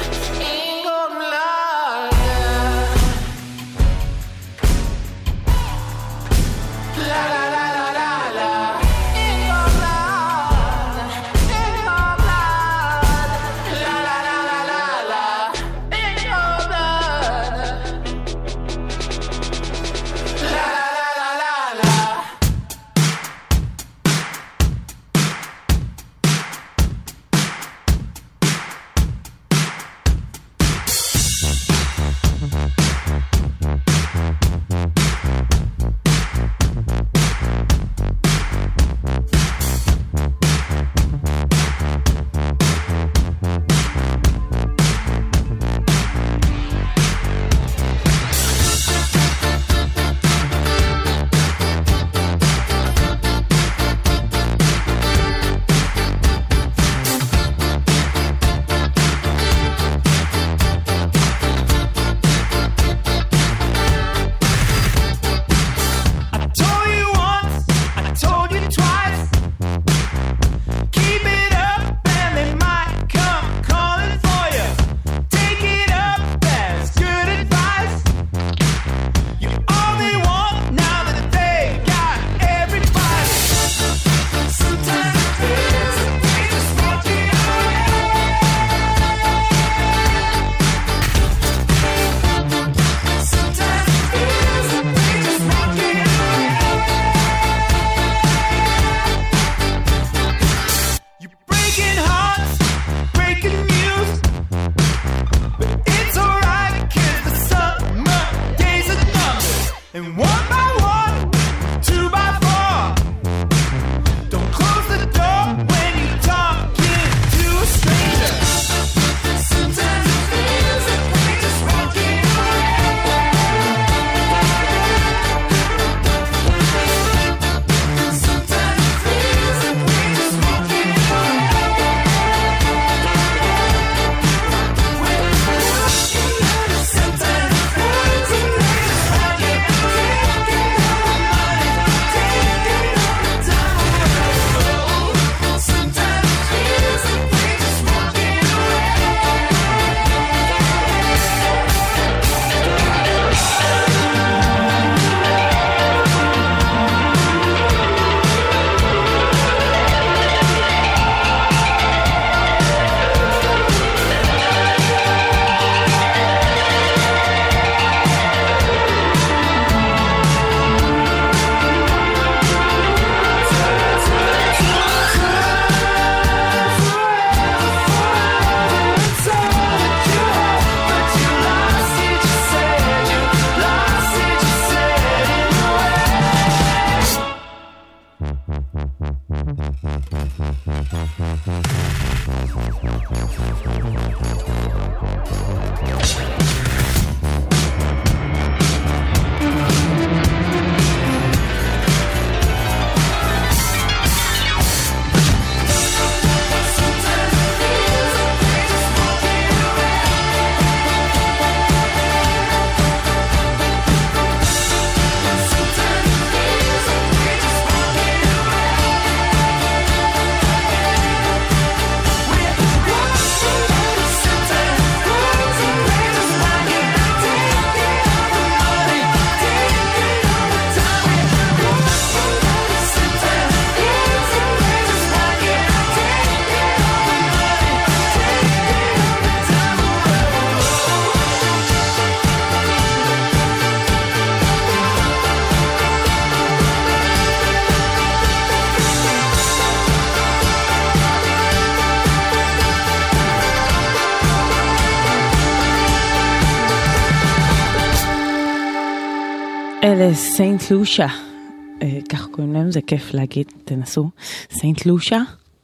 לסיינט לושה, כך קוראים להם, זה כיף להגיד, תנסו, סיינט לושה,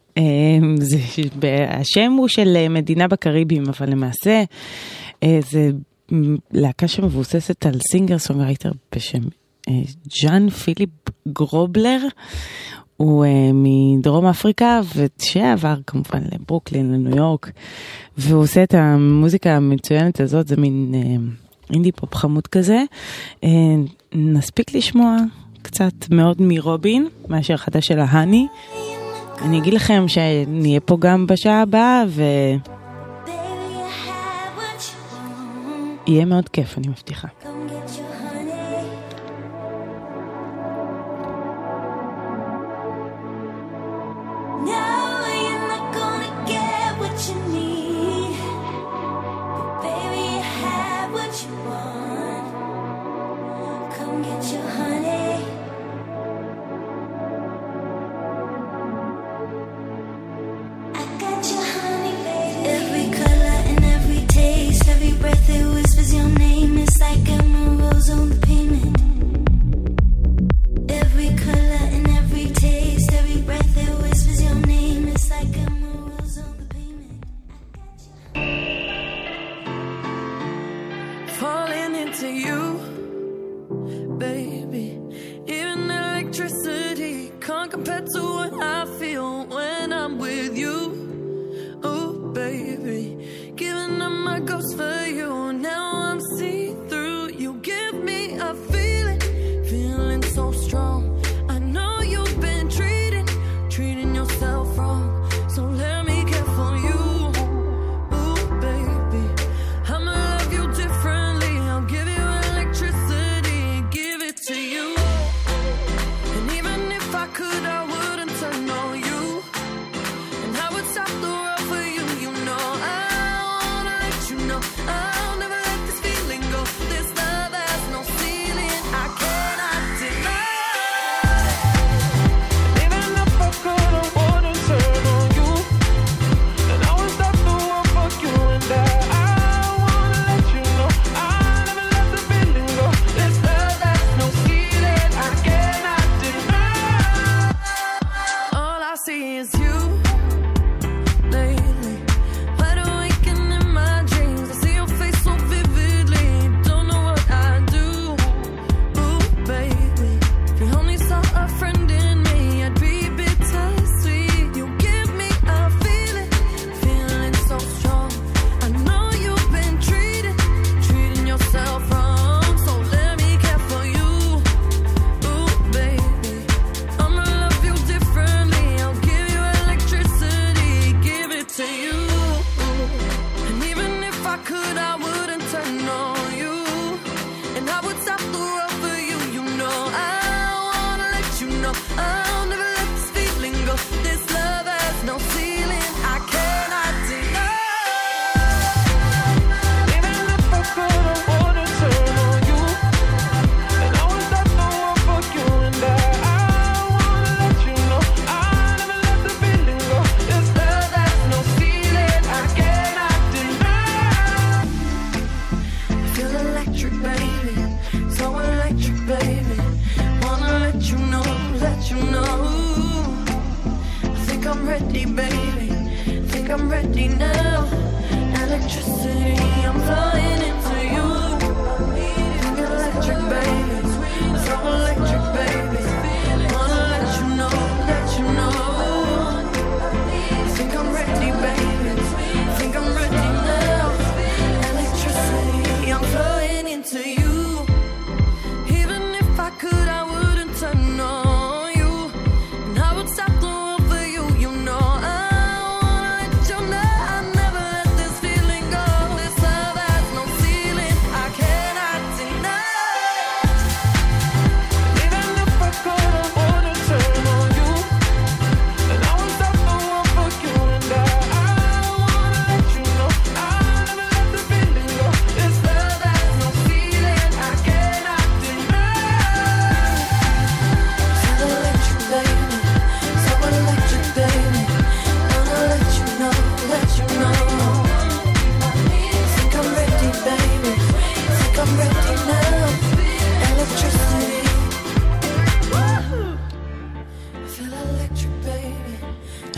השם הוא של מדינה בקריבים, אבל למעשה זה להקה שמבוססת על סינגר סונגרייטר בשם ג'אן פיליפ גרובלר, הוא מדרום אפריקה ושעבר כמובן לברוקלין, לניו יורק, והוא עושה את המוזיקה המצוינת הזאת, זה מין אינדי פופ חמוד כזה. נספיק לשמוע קצת מאוד מרובין, מאשר חדש של ההני. אני אגיד לכם שנהיה פה גם בשעה הבאה, ויהיה מאוד כיף, אני מבטיחה.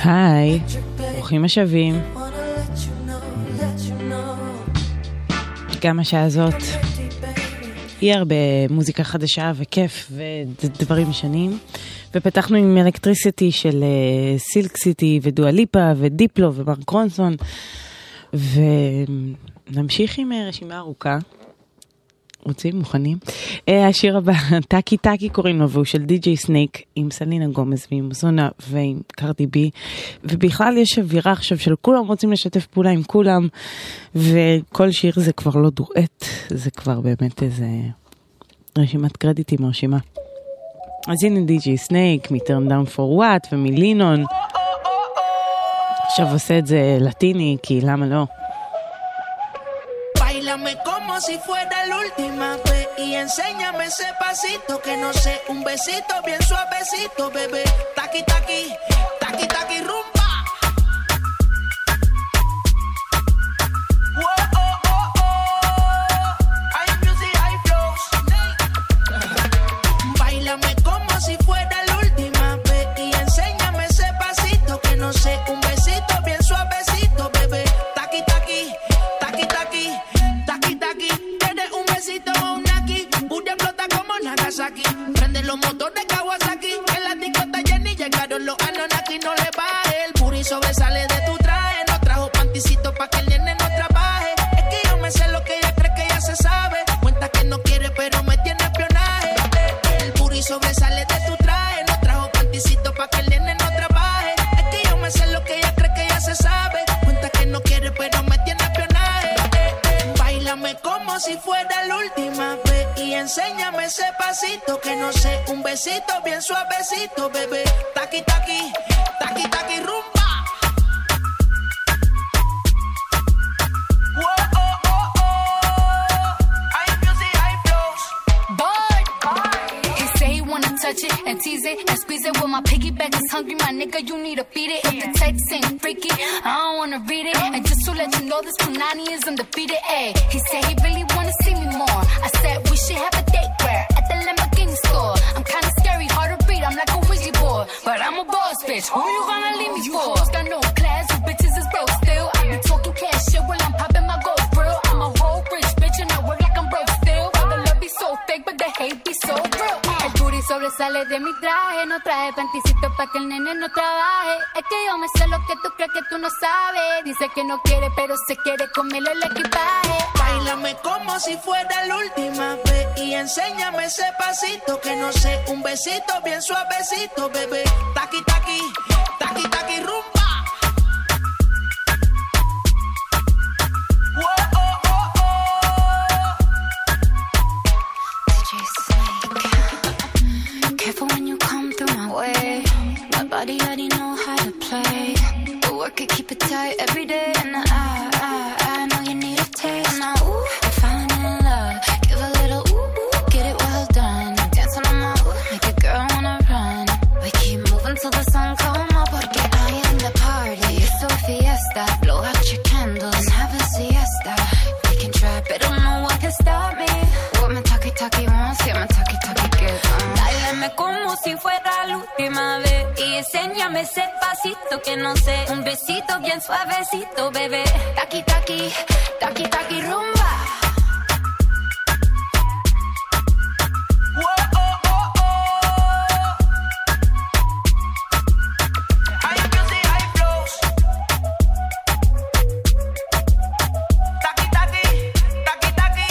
היי, ברוכים השבים. גם השעה הזאת היא הרבה מוזיקה חדשה וכיף ודברים משנים. ופתחנו עם אלקטריסיטי של סילק סיטי ודואליפה ודיפלו ומרק רונסון. ונמשיך עם רשימה ארוכה. רוצים? מוכנים? השיר הבא, טאקי טאקי קוראים לו, והוא של די.ג'יי סנייק עם סלינה גומז ועם זונה ועם קרדי בי, ובכלל יש אווירה עכשיו של כולם רוצים לשתף פעולה עם כולם, וכל שיר זה כבר לא דואט, זה כבר באמת איזה רשימת קרדיטים מרשימה. אז הנה די.ג'יי סנייק מ-Turn Down for What ומלינון, עכשיו עושה את זה לטיני, כי למה לא? Báilame como si fuera la última vez y enséñame ese pasito que no sé, un besito bien suavecito, bebé. Taqui taqui, taqui taqui rumba. Oh, oh, oh, oh. Hay music, hay flows. Báilame como si fuera la última vez y enséñame ese pasito que no sé, un besito bien suavecito, bebé. Taqui taqui, taqui taqui. Tienes un besito o un aquí, Bulla explota como Nagasaki. Prende los motores Kawasaki, en la discota Jenny llegaron los Anunnaki. No le baje, el booty sobresale de tu traje. No trajo panticito pa' que el nene no trabaje. Es que yo me sé lo que ella cree que ya se sabe. Cuenta que no quiere pero me tiene espionaje. El booty sobresale de tu traje. No trajo panticito pa' que el nene no trabaje. Es que yo me sé lo que ella cree que ya se sabe. Cuenta que no quiere pero me tiene espionaje. Báilame como si fuera la última vez y enséñame ese pasito que no sé, un besito bien suavecito, bebé. Taqui taqui, taqui taqui rumba. Oh, oh, oh, oh. Hay music, hay flows. Boy, he say he wanna touch it and tease it and squeeze it. When my piggyback is hungry, my nigga, you need to feed it. If the text ain't freaky, I don't wanna read it. And just to let you know, this Punani is undefeated. Ay, he said he really wanna see me more. I said we should have a date where at the Lamborghini store. I'm kinda scary, hard to read. I'm like a Ouija board, but I'm a boss bitch. Who you gonna leave me for? You got no class, you bitches is broke still. I be talking cash shit while I'm popping my gold grill. I'm a whole rich bitch and I work like I'm broke still. All the love be so fake, but the hate be so real. El booty sobresale de mi traje, no traje panticito pa' que el nene no trabaje. Es que yo me sé lo que tú crees que tú no sabes. Dice que no quiere, pero se quiere comerle el equipaje. Báilame como si fuera la última vez y enséñame ese pasito que no sé, un besito bien suavecito, bebé. Taqui taqui, taqui taqui rumba. Oh, oh, oh, oh. DJ Snake, careful when you come through my way. My body already know how to play. The work it, keep it tight every day. And I know you need a taste. Now, ooh, I'm falling in love. Give a little ooh, get it well done. Dancing on my ooh, make a girl wanna run. We keep moving till the sun come up. Porque I am the party. It's a fiesta. Blow out your candles and have a siesta. We can try, but don't know what can stop me. What my talkie wants, yeah, my talkie gets on. Báilame como si fuera la última vez y enséñame ese pasito que no sé, un besito bien suavecito, bebé. Taqui taqui, taqui taqui rumba. Oh, oh, oh, oh. Hay music, hay flows. Taqui taqui, taqui taqui.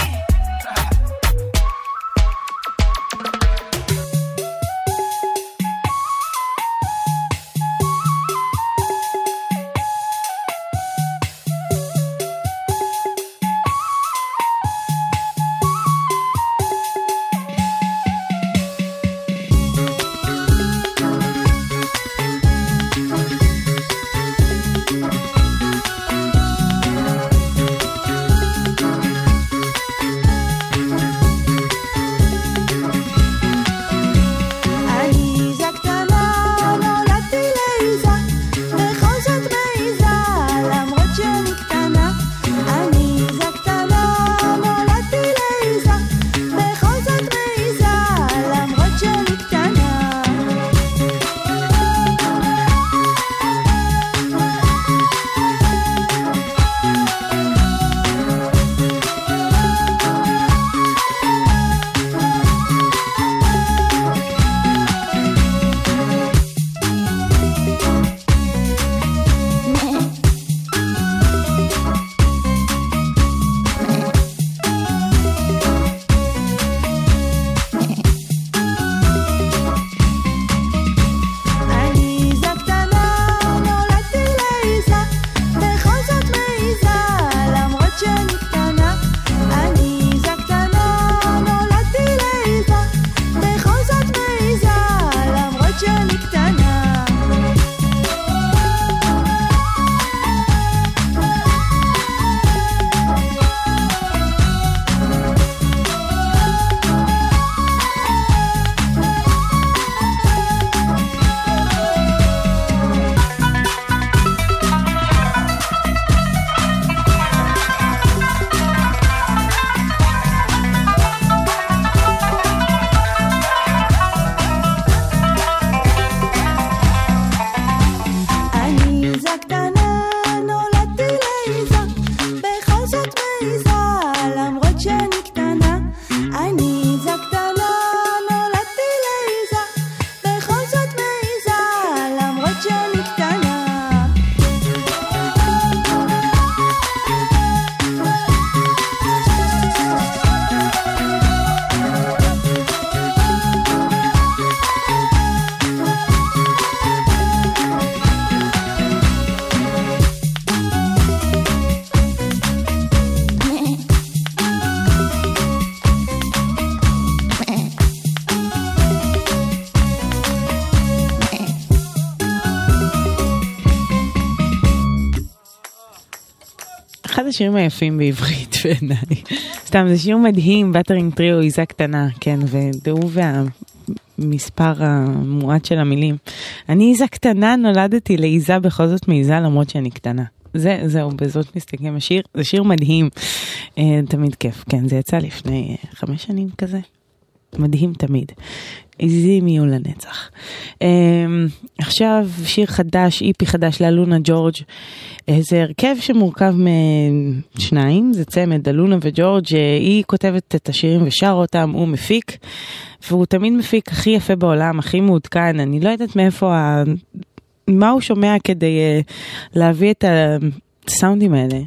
אחד השירים היפים בעברית בעיניי. סתם, זה שיר מדהים, בטרינג טריו, עיזה קטנה, כן, והוא והמספר המועט של המילים. אני עיזה קטנה, נולדתי לעיזה בכל זאת מעיזה למרות שאני קטנה. זהו, בזאת מסתכם השיר, זה שיר מדהים, תמיד כיף, כן, זה יצא לפני 5 שנים כזה, מדהים תמיד, עיזים יהיו לנצח. עכשיו שיר חדש, איפי חדש לאלונה ג'ורג', זה הרכב שמורכב משניים, זה צמד, אלונה וג'ורג', היא כותבת את השירים ושר אותם, הוא מפיק, והוא תמיד מפיק הכי יפה בעולם, הכי מעודכן, אני לא יודעת מאיפה מה הוא שומע כדי להביא את הסאונדים האלה.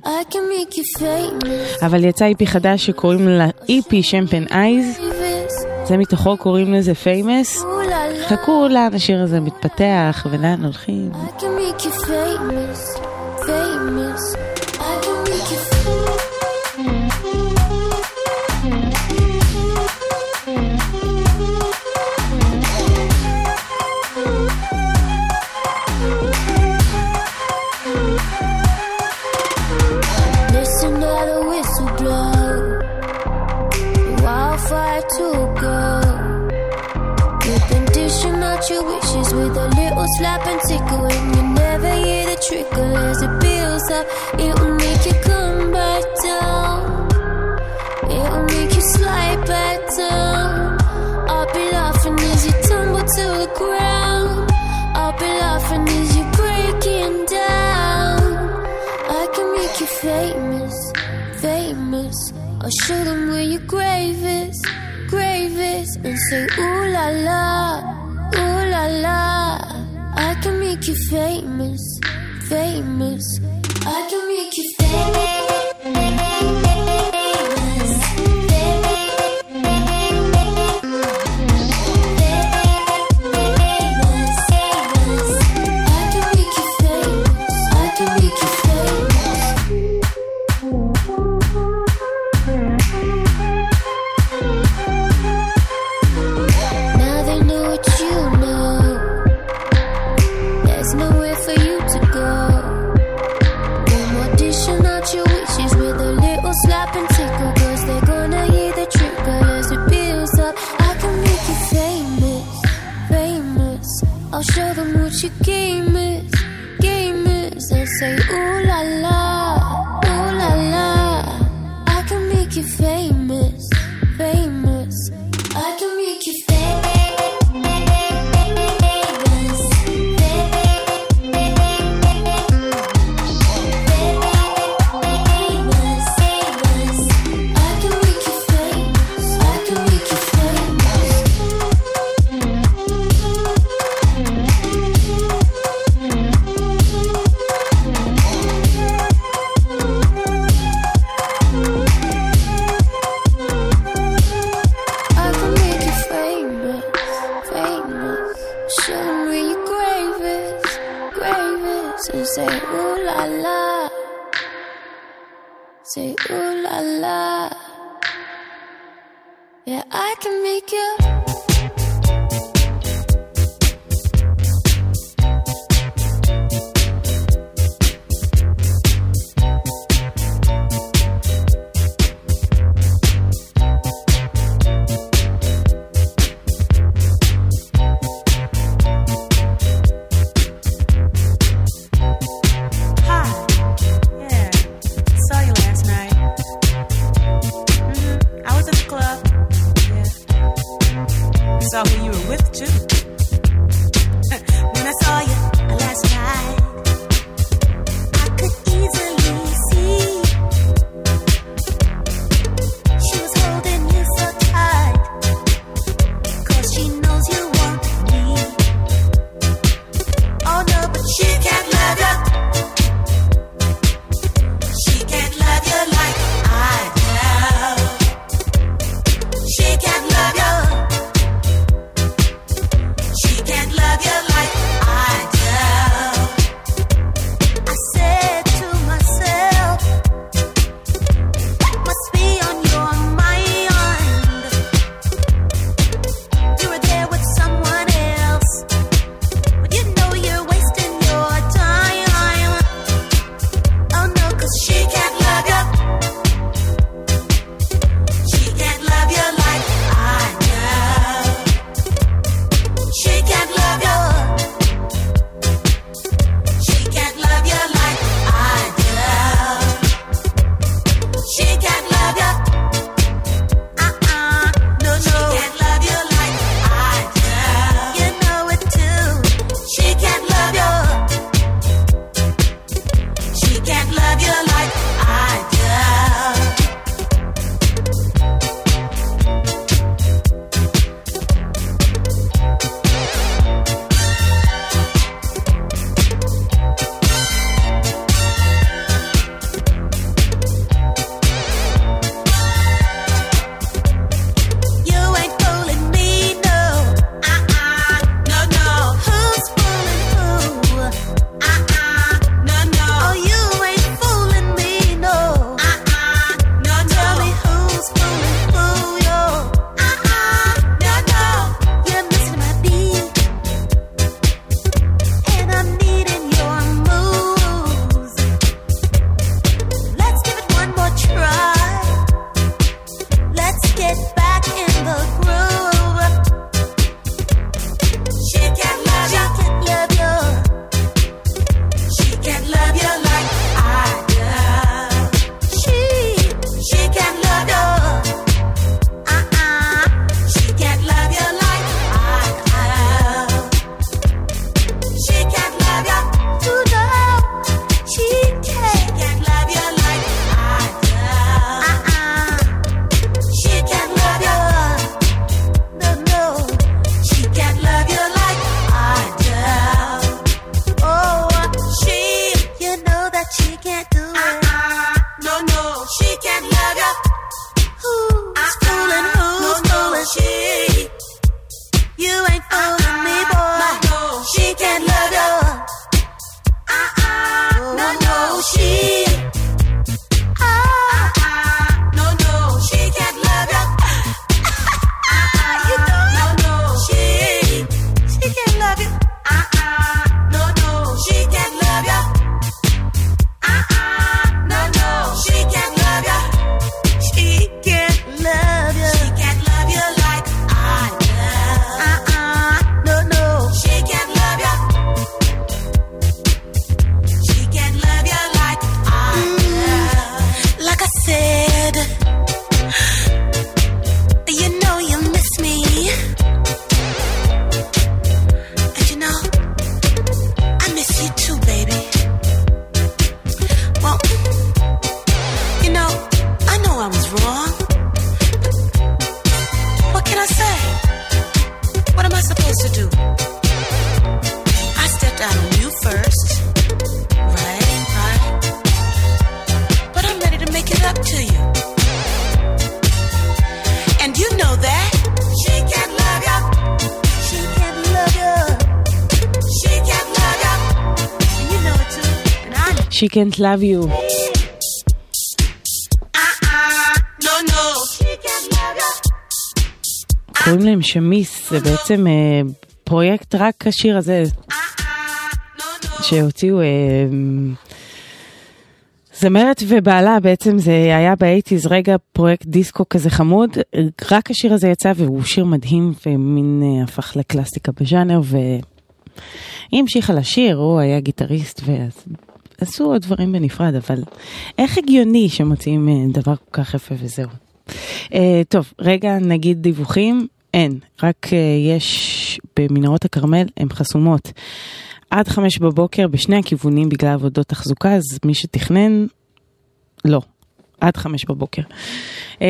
אבל יצא איפי חדש שקוראים לה איפי שמפן אייז, זה מתוכו קוראים לזה פיימס. חכו לאן השיר הזה מתפתח ולאן הולכים. Your wishes with a little slap and tickle, and you never hear the trickle as it builds up. It will make you come back down. It will make you slide back down. I'll be laughing as you tumble to the ground. I'll be laughing as you're breaking down. I can make you famous, famous. I'll show them where your grave is, and say ooh la la. Ooh la la, I can make you famous, famous. I can make you famous. I'll show them what your game is, and say ooh la la, ooh la la. I can make you famous, famous. I can make you famous. Say ooh la la. Yeah, I can make you. first. Right. But I'm ready to make it up to you. And you know that she can't love you. She can't love you. She can't love you. And you know it too. And I know. She can't love you. No. She can't love you. קוראים להם שמיס, זה בעצם פרויקט רק השיר הזה שהוציאו זמרת ובעלה, בעצם זה היה ב-80s, רגע פרויקט דיסקו כזה חמוד, רק השיר הזה יצא והוא שיר מדהים ומין הפך לקלאסיקה בז'אנר, והיא המשיכה לשיר, הוא היה גיטריסט ועשו עוד דברים בנפרד, אבל איך הגיוני שמוצאים דבר כל כך יפה וזהו. טוב, רגע נגיד דיווחים, אין, רק יש במנהרות הכרמל, הן חסומות עד 5 בבוקר בשני הכיוונים בגלל עבודות תחזוקה, אז מי שתכנן, לא, עד 5 בבוקר. 1-800-891-8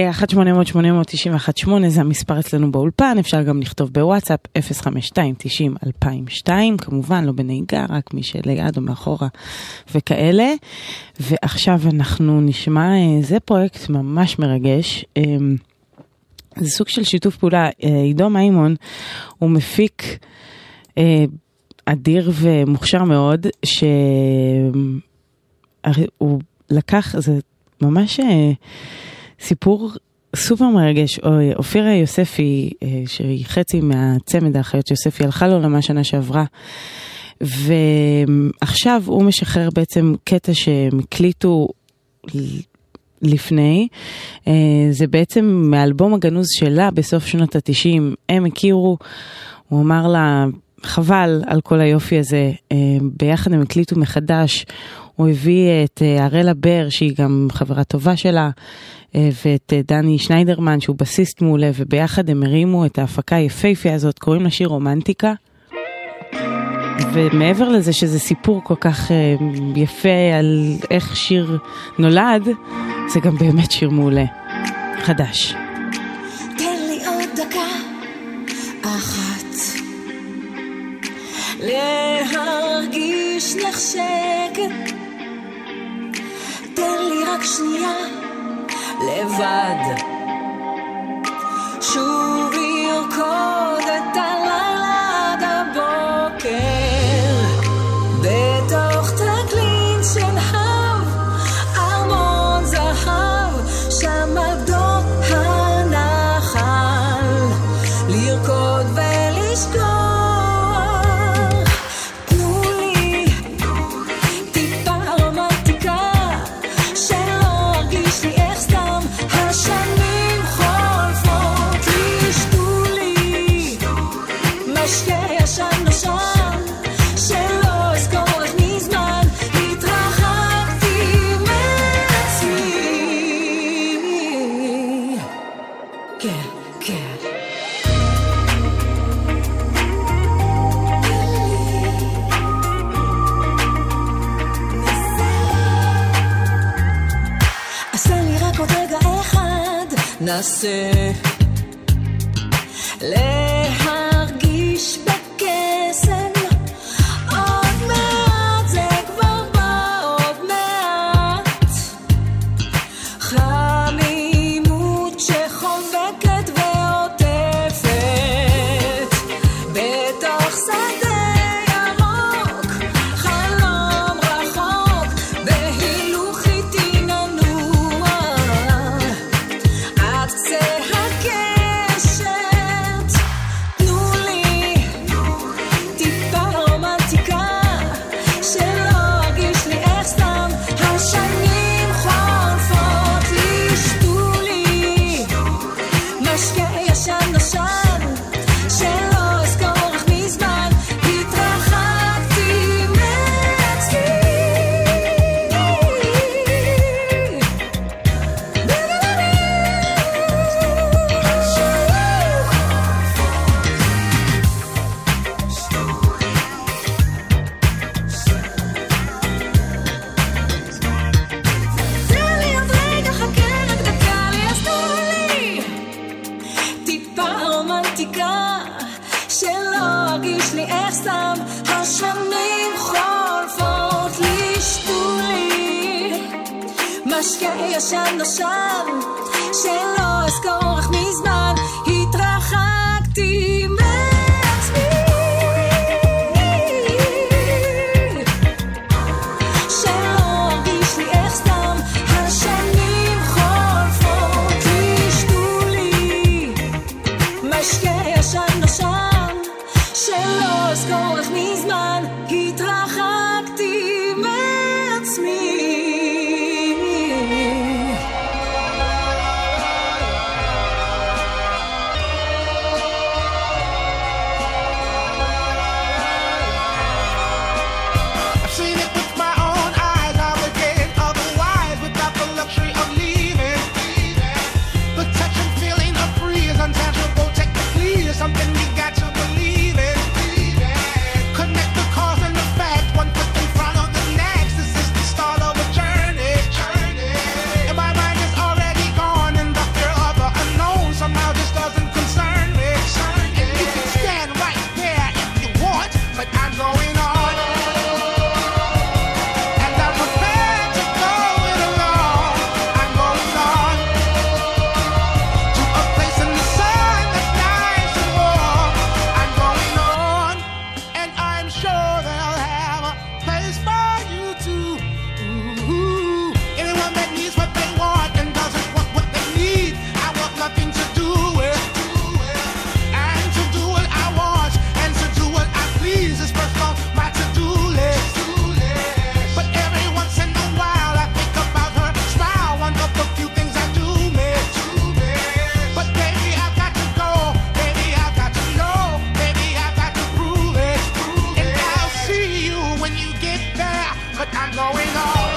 זה המספר אצלנו באולפן, אפשר גם לכתוב בוואטסאפ 052-90-2002, כמובן לא בנהיגה, רק מי שליד או מאחורה וכאלה. ועכשיו אנחנו נשמע, זה פרויקט ממש מרגש, זה סוג של שיתוף פעולה, עידו מימון הוא מפיק אדיר ומוכשר מאוד, שהוא לקח, זה ממש סיפור סופר מרגש. אופירה יוספי, שהיא חצי מהצמד האחיות יוספי, הלכה לעולמה שנה שעברה, ועכשיו הוא משחרר בעצם קטע שמקליטו לפני, זה בעצם מאלבום הגנוז שלה בסוף שנות ה-90, הם הכירו, הוא אמר לה, חבל על כל היופי הזה, ביחד הם הקליטו מחדש, הוא הביא את אראלה בר, שהיא גם חברה טובה שלה, ואת דני שניידרמן, שהוא בסיסט מעולה, וביחד הם הרימו את ההפקה היפהפייה הזאת, קוראים לה שיר רומנטיקה, ומעבר לזה שזה סיפור כל כך יפה על איך שיר נולד, זה גם באמת שיר מעולה, חדש. תן לי עוד דקה אחת להרגיש נחשקת, תן לי רק שנייה לבד, שוב ירקוד את הלילה עד הבוקר בתוך תקלין שנהב ארמון זהב, שם על גדות הנחל לרקוד ולשכוח. תנו לי טיפה רומנטיקה, שלא ארגיש לי איך סתם השנים חולפות לי. שתו לי משקה ישן נושן, שלא אזכור איך מזמן התרחקתי מעצמי. כן, כן. אז תן לי רק עוד רגע אחד, נסה להרגיש בקסם. עוד מעט זה כבר בא, עוד מעט חמימות שחובקת ועוטפת בתוך שדה ירוק, חלום רחוק בהילוך איתי ננוע עד קצה הקשת. תנו לי טיפה רומנטיקה, שלא ארגיש לי איך סתם השנים חולפות לי. שתו לי משקה ישן נושן, שלא אזכור איך מזמן התרחקתי מעצמי. תן לי עוד רגע, חכה רק דקה לי, אז תנו לי טיפה רומנטיקה, שלא ארגיש לי איך סתם השנים חולפות משקה ישן נושב שלא אזכור איך מזמן התרחקתי מעצמי שלא הרגיש לי איך סתם השנים חולפות תשתו לי משקה ישן נושב שלא אזכור איך מזמן התרחקתי מעצמי Something we got to believe in. Connect the cause and the fact, one foot in front of the next. This is the start of a journey. And my mind is already gone in the fear of the unknown. Somehow this doesn't concern me. And you can stand right there if you want, but I'm going on. And I'm prepared to go it alone. I'm going on to a place in the sun that's nice and warm. I'm going on, and I'm sure they'll have a place for you too. Ooh. Anyone that needs what they want and doesn't want what they need, I want nothing to do with. And to do what I want and to do what I please is first on my to-do list. But every once in a while I think about her smile, one of the few things I do miss. But baby, I've got to go. Baby, I've got to know. Baby, I've got to prove it. And I'll see you when you get there. But I'm going on.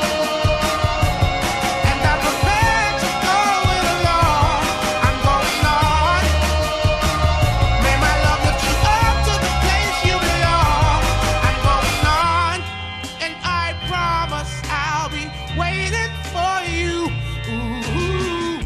And I'm prepared to go it alone. I'm going on. May my love lift you up to the place you belong. I'm going on. And I promise I'll be waiting for you. Ooh.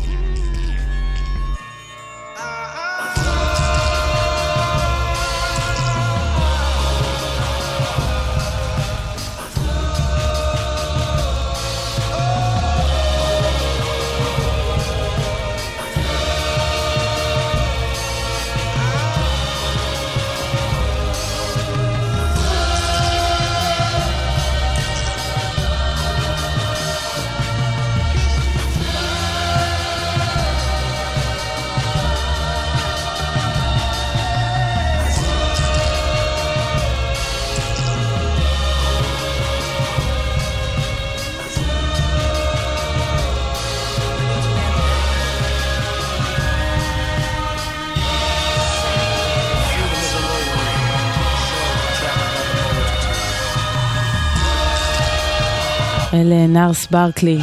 אלה נארס ברקלי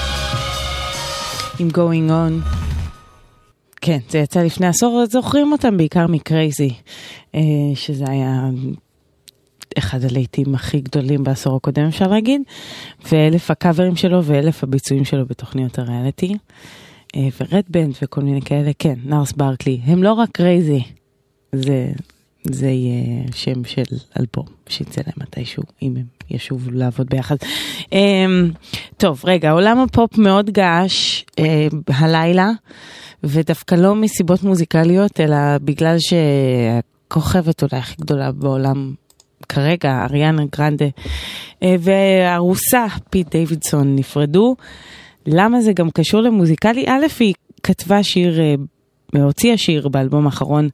עם Going On. כן, זה יצא לפני עשור, זוכרים אותם בעיקר מקרייזי, שזה היה אחד הלהיטים הכי גדולים בעשור הקודם, אפשר להגיד, ואלף הקאברים שלו ואלף הביצועים שלו בתוכניות הריאליטי, ורד בנד וכל מיני כאלה. כן, נארס ברקלי, הם לא רק קרייזי, זה יהיה שם של אלבום שיצא להם מתישהו, אם הם ישובו לעבוד ביחד. טוב, רגע, עולם הפופ מאוד געש הלילה, ודווקא לא מסיבות מוזיקליות, אלא בגלל שהכוכבת אולי הכי גדולה בעולם כרגע, אריאנה גרנדה, והרוסה פיט דיווידסון נפרדו. למה זה גם קשור למוזיקלי? א', היא כתבה שיר, הוציאה שיר באלבום האחרון,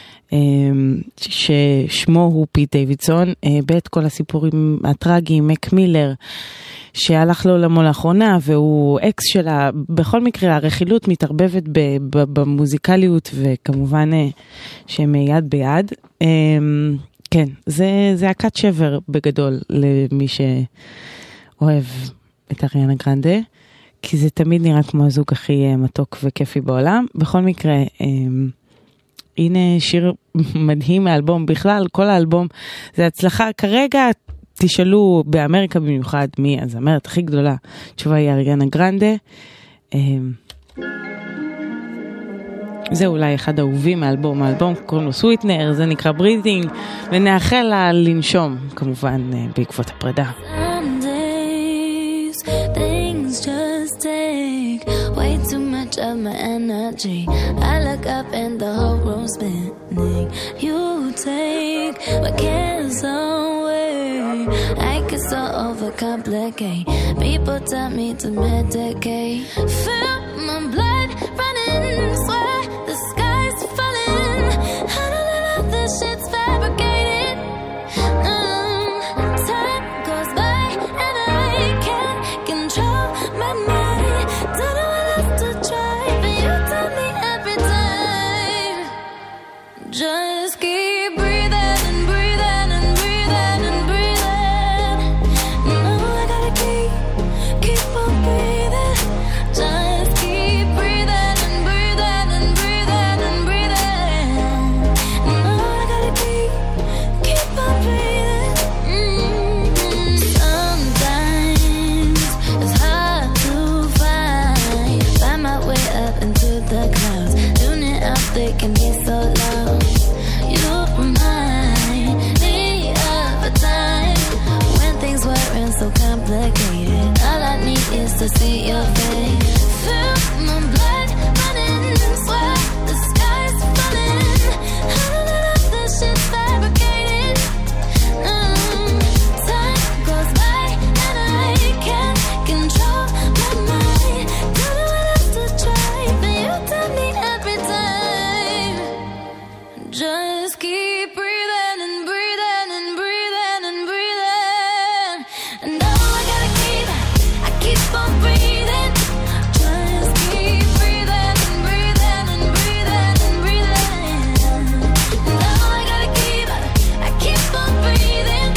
ששמו הוא פיט דיווידסון, בית כל הסיפורים הטרגיים, מק מילר, שהלך לעולמו לאחרונה, והוא אקס שלה. בכל מקרה, הרכילות מתערבבת במוזיקליות, וכמובן שהם יד ביד. כן, זה הקת שבר בגדול למי שאוהב את אריאנה גרנדה, כי זה תמיד נראה כמו הזוג הכי מתוק וכיפי בעולם. בכל מקרה, הנה שיר מדהים מהאלבום, בכלל כל האלבום זה הצלחה. כרגע תשאלו באמריקה במיוחד מי הזמרת הכי גדולה, תשובה היא אריאנה גרנדה. זה אולי אחד האהובים מהאלבום, האלבום קוראים לו סוויטנר, זה נקרא ברידינג, ונאחל לה לנשום כמובן בעקבות הפרידה. Some days things just of my energy. I look up and the whole room's spinning. You take my cares away. I get so overcomplicate. People tell me to medicate. Feel my blood running, swear the sky's falling. I don't know this shit's fabricated. Time goes by and I can't control my mind. Don't know what else to try, but you tell me every time. Just keep breathing and breathing and breathing and breathing. No, I gotta keep on breathing. Just keep breathing and breathing and breathing and breathing. No, I gotta keep on breathing. Sometimes it's hard to find my way up into the clouds. Tuning out, they can be so loud. You remind me of a time when things weren't so complicated. All I need is to see your face. Feel my blood running, swear the sky's falling. I don't know if this shit's fabricated. Time goes by and I can't control my mind. Don't know what else to try, but you tell me every time. Just keep breathing and breathing and breathing and breathing. And now I gotta keep on breathing. Just keep breathing and breathing and breathing and breathing. And now I gotta keep on breathing.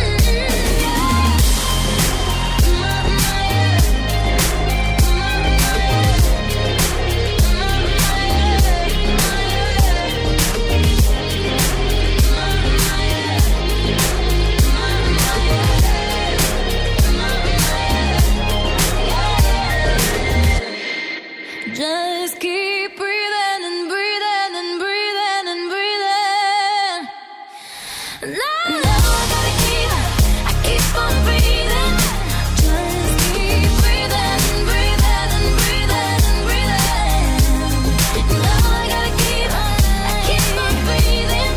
Just keep breathing and breathing and breathing and breathing. Now I gotta keep on breathing. Just keep breathing and breathing and breathing and breathing. Now I gotta keep on breathing.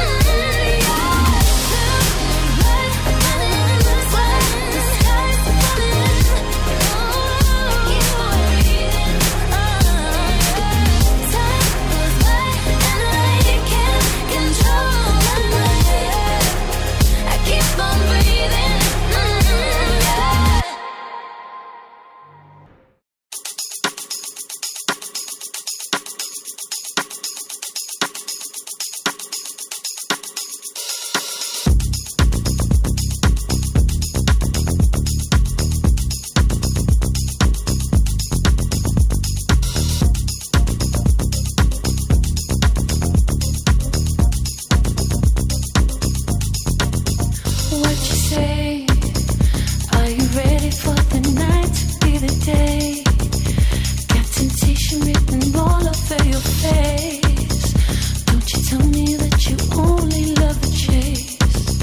What you say? Are you ready for the night to be the day? Got temptation written all over your face. Don't you tell me that you only love the chase.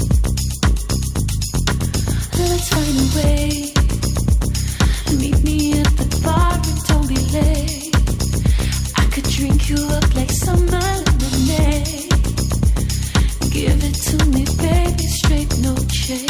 Let's find a way. Meet me at the bar and don't be late. I could drink you up like summer lemonade. Give it to me, baby, straight, no chase.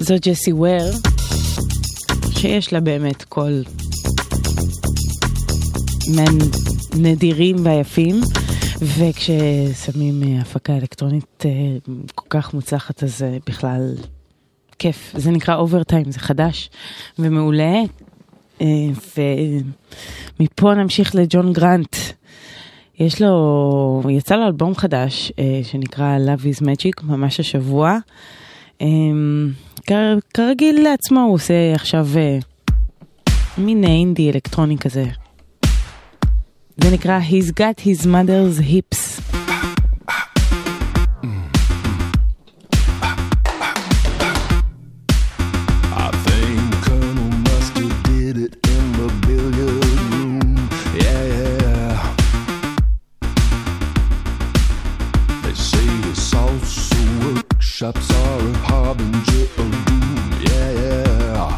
זו ג'סי וויר, שיש לה באמת קול נדירים ויפים, וכששמים הפקה אלקטרונית כל כך מוצלחת, אז בכלל כיף. זה נקרא אוברטיים, זה חדש ומעולה. ומפה נמשיך לג'ון גרנט. יצא לו אלבום חדש שנקרא Love is Magic, ממש השבוע. כרגיל לעצמו, הוא עושה עכשיו מין אינדי אלקטרוני כזה. זה נקרא He's Got His Mother's Hips. Shops are a harbinger of doom, yeah.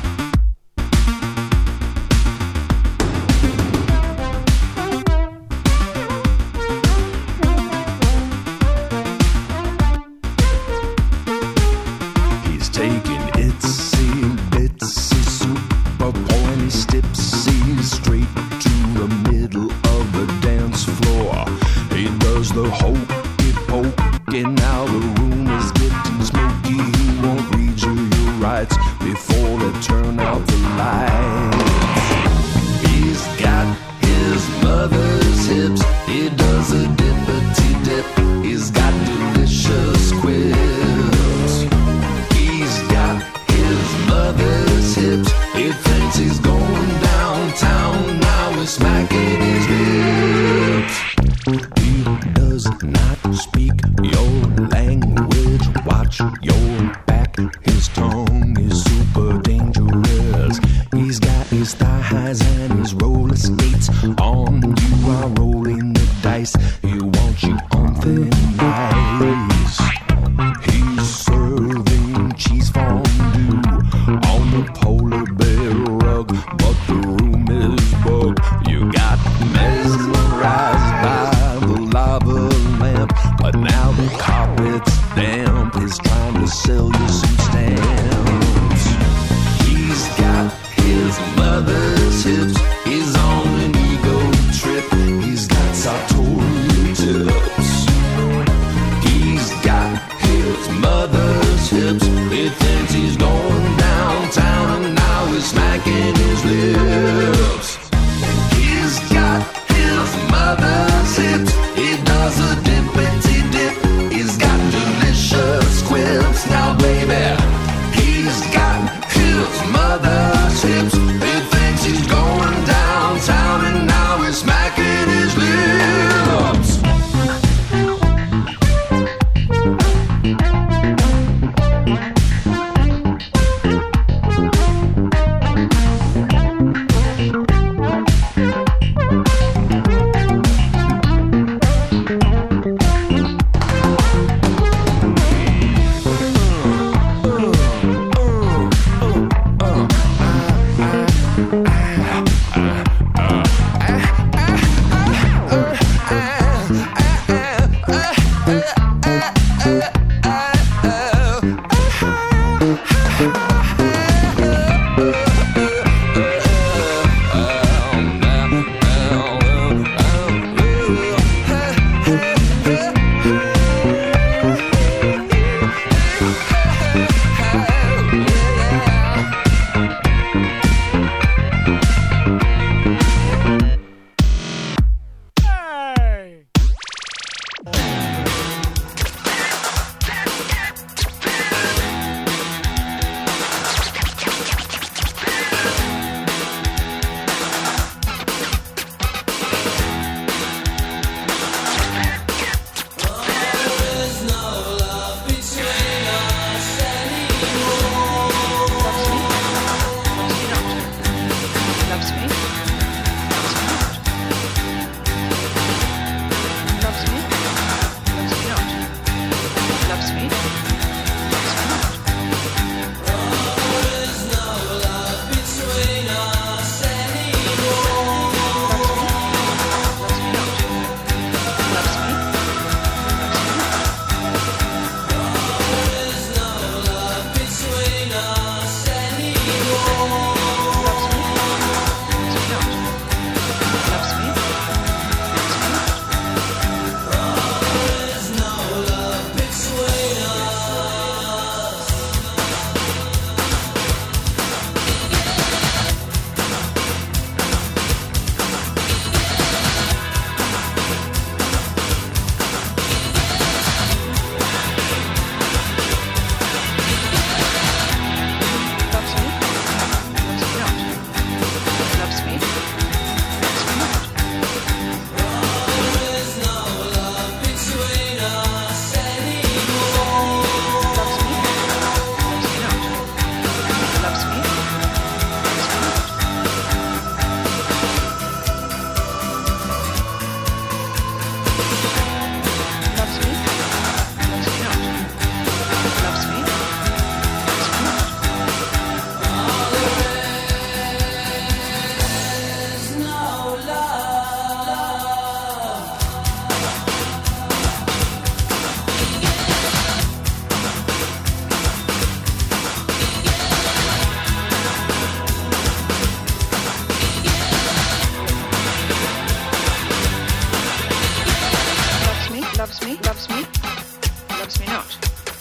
He's taking itsy bitsy super pointy stipsies straight to the middle of the dance floor. He does the hokey pokey, now the room is getting smoky. He won't read you your rights before they turn out the lights. He's got his mother's hips, he does a dippity dip. He's got delicious quips. He's got his mother's hips, he thinks he's going downtown, now he's smacking his lips. He does not speak your language, watch your back, his tongue is super dangerous. He's got his thigh highs and his roller skates on, you are rolling the dice, he wants you on thin ice. He's serving cheese fondue on the polar bear rug, but the room is bugged. You got mesmerized by the lava lamp, but now the carpet's damp. He's trying to sell you some stamps. He's got his mother's hips, he's on an ego trip. He's got sartorial tips. He's got his mother's hips, he thinks he's going downtown, and now he's smacking his lips. He's got his mother's hips, he does a dippity dip. He's got delicious quips, now baby. He's got his mother's hips, he thinks he's going downtown, and now he's smacking his lips. loves me not.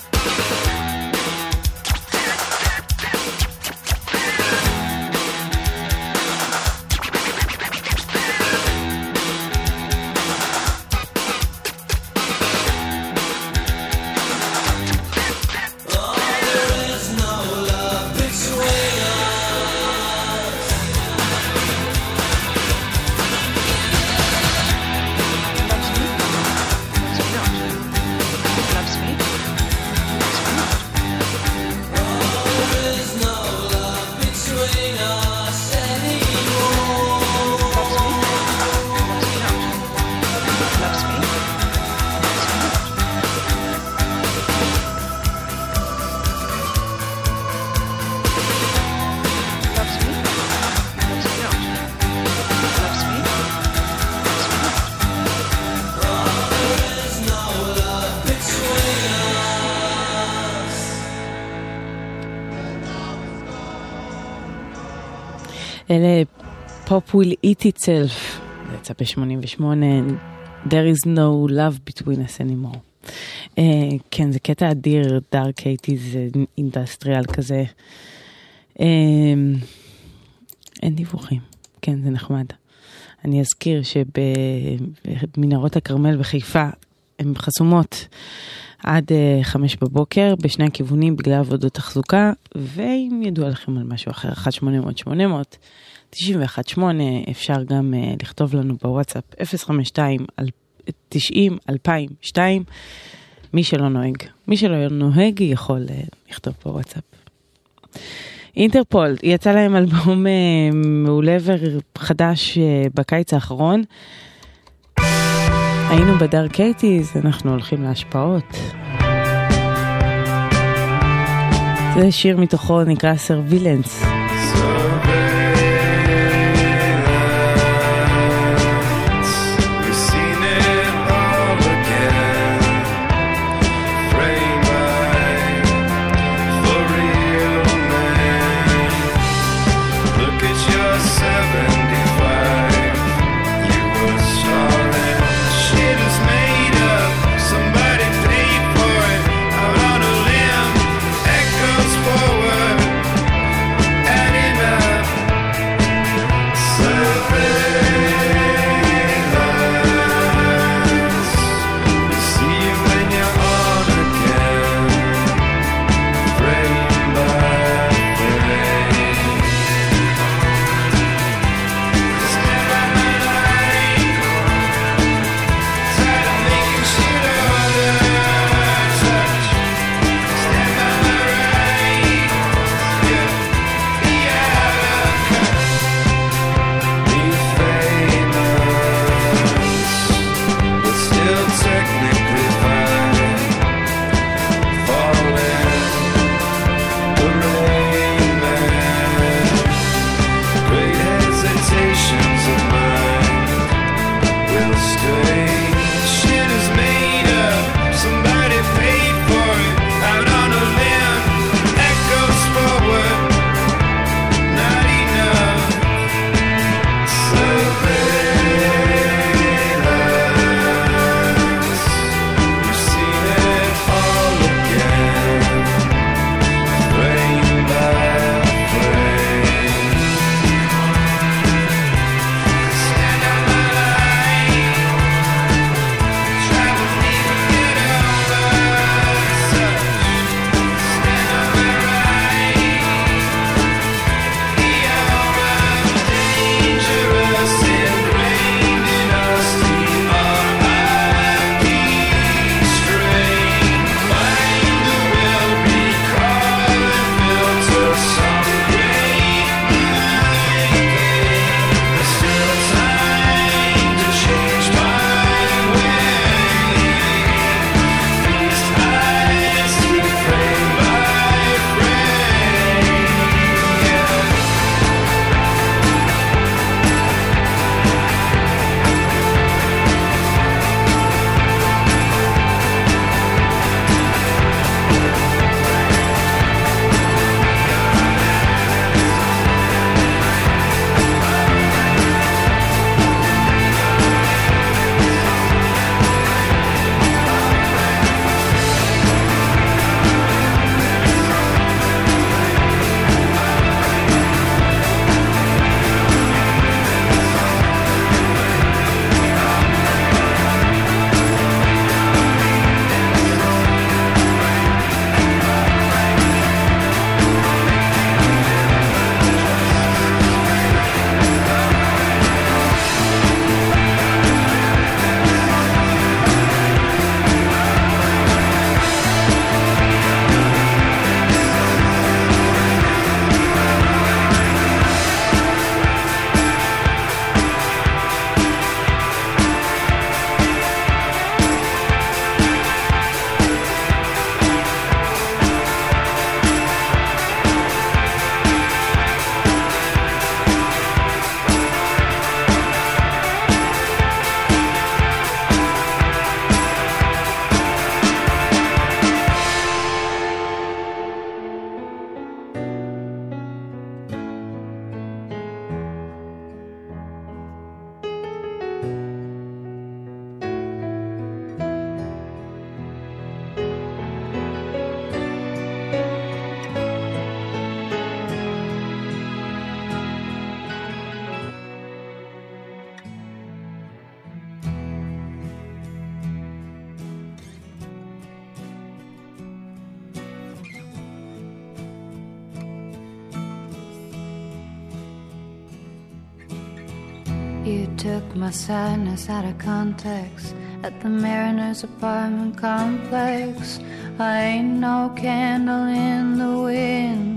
אלה Pop Will Eat Itself, זה יצא ב-88, There is no love between us anymore. כן, זה קטע אדיר, דארק 80s, אינדסטריאל כזה. אין דיווחים, כן, זה נחמד. אני אזכיר שבמנהרות הכרמל בחיפה הן חסומות עד 5 בבוקר בשני הכיוונים בגלל עבודות תחזוקה, ואם ידוע לכם על משהו אחר, 1-800-800-91-8, אפשר גם לכתוב לנו בוואטסאפ 052-90-2002, מי שלא נוהג יכול לכתוב בוואטסאפ. אינטרפול, יצא להם אלבום מעולה וחדש בקיץ האחרון. היינו בדארק 80s, אנחנו הולכים להשפעות. זה שיר מתוכו נקרא Surveillance. Echoes forward You took my sadness out of context at the Mariners apartment complex. I ain't no candle in the wind.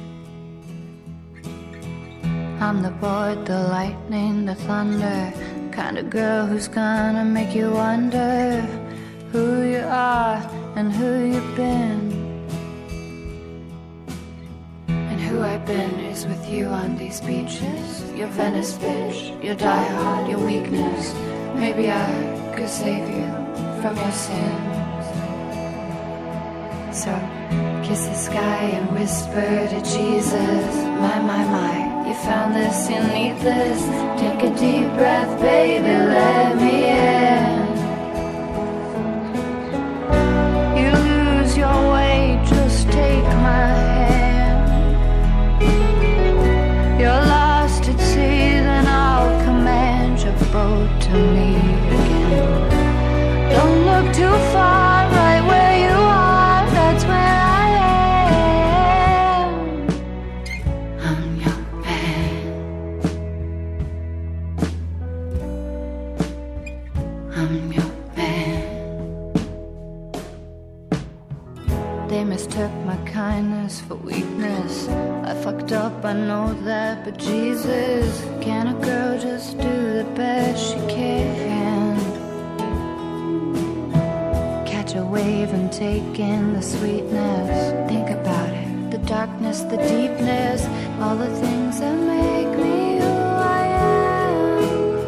I'm the board, the lightning, the thunder, kind of girl who's gonna make you wonder who you are and who you've been. And who I've been is with you on these beaches. Your Venice bitch, your diehard, your weakness. Maybe I could save you from your sins. So kiss the sky and whisper to Jesus, my, you found this, you need this. Take a deep breath, baby, let me in. You lose your way, just take my hand. You're lost at sea, then I'll command your boat to me again. Don't look too far, right where you are, that's where I am. I'm your man. I'm your man. They mistook my kindness for weakness. I fucked up, I know that, but Jesus, can a girl just do the best she can? Catch a wave and take in the sweetness. Think about it, the darkness, the deepness, all the things that make me who I am.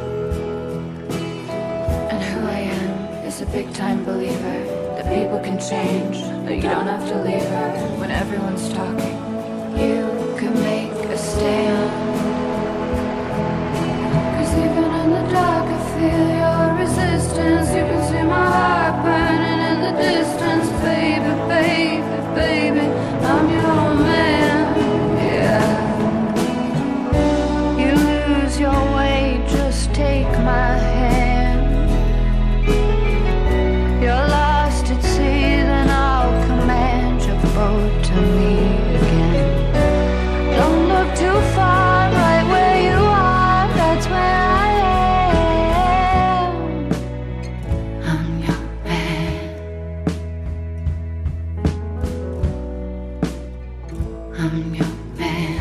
And who I am is a big time believer that people can change, that you don't have to leave her when everyone's talking. You can make a stand. 'Cause even in the dark I feel your resistance. You can see my heart burning in the distance. Baby, baby, baby, I'm your man, yeah. You lose your way, just take my hand. You're lost at sea, then I'll command your boat to me again. Don't look too far, right where you are, that's where I am. I'm your man. I'm your man.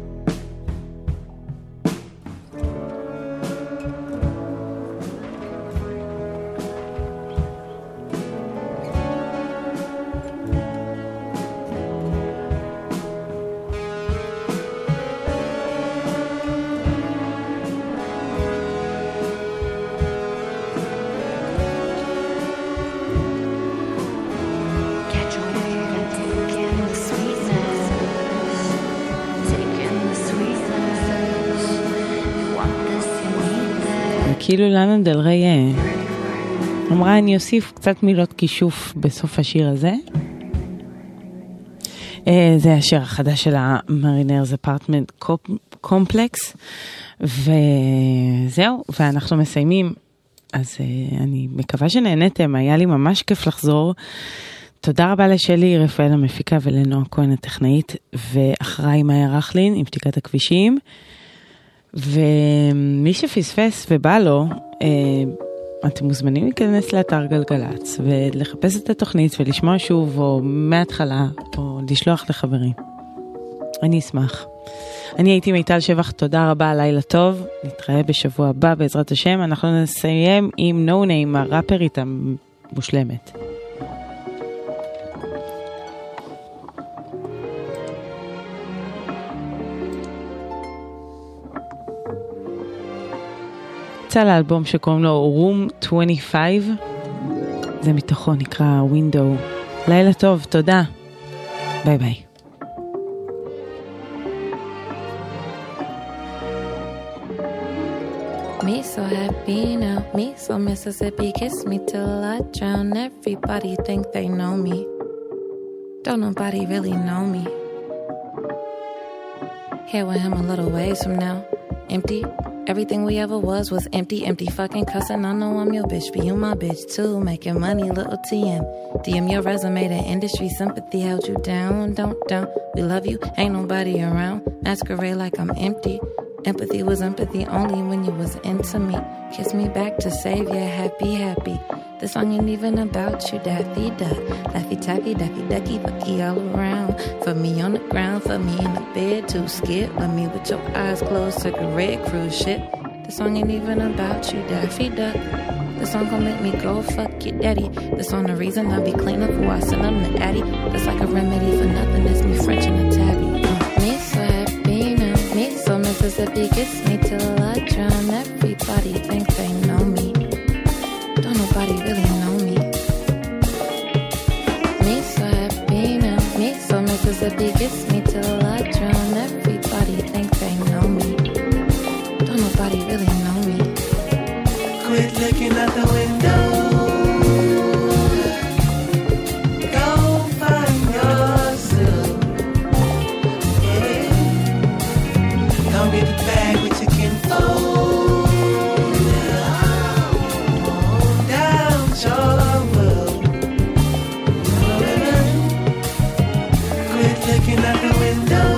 כאילו לאנה דל ריי אמרה אני אוסיף קצת מילות כישוף בסוף השיר הזה. זה השיר החדש של המרינרס אפרטמנט קומפלקס, וזהו, ואנחנו מסיימים. אז אני מקווה שנהנתם, היה לי ממש כיף לחזור. תודה רבה לשלי רפאל המפיקה ולנועה כהן הטכנאית, ואחריי מאיה רכלין עם פתיקת הכבישים. ומי שפספס ובא לו, אתם מוזמנים להיכנס לאתר גלגלץ ולחפש את התוכנית ולשמוע שוב או מההתחלה או לשלוח לחברים. אני אשמח. אני הייתי מיטל שבח, תודה רבה, לילה טוב, נתראה בשבוע הבא בעזרת השם. אנחנו נסיים עם No Name, הראפרית המושלמת. יצא לאלבום שקוראים לו Room 25, זה מתוכו נקרא Window. לילה טוב, תודה, ביי ביי. Me so happy now, me so Mississippi, kiss me till I drown. Everybody think they know me, don't nobody really know me. Here with him a little ways from now, empty. Everything we ever was empty, empty fucking cussing. I know I'm your bitch, but you my bitch too. Making money, little TM. DM your resume to industry sympathy held you down, don't down. We love you, ain't nobody around. Masquerade like I'm empty. Empathy was empathy only when you was into me. Kiss me back to save ya, happy, happy. This song ain't even about you, Daffy Duck. Laffy Taffy, Daffy Ducky, Bucky all around. For me on the ground, for me in the bed, too scared. Love me with your eyes closed, took a red cruise ship. This song ain't even about you, Daffy Duck. This song gon' make me go fuck your daddy. This song the reason I be clean up who I send them to Addy. That's like a remedy for nothing, it's me French and a tabby. Me so happy now, me so Mississippi, kiss me till I drown. Everybody think they know me. Don't nobody really know me. Me so happy now, me so Mississippi, kiss me till I drown. Everybody think they know me. Don't nobody really know me. Quit looking out the window. Go find yourself. Yeah. Don't get the bag with your kinfolk. Down your world. Quit looking out the window.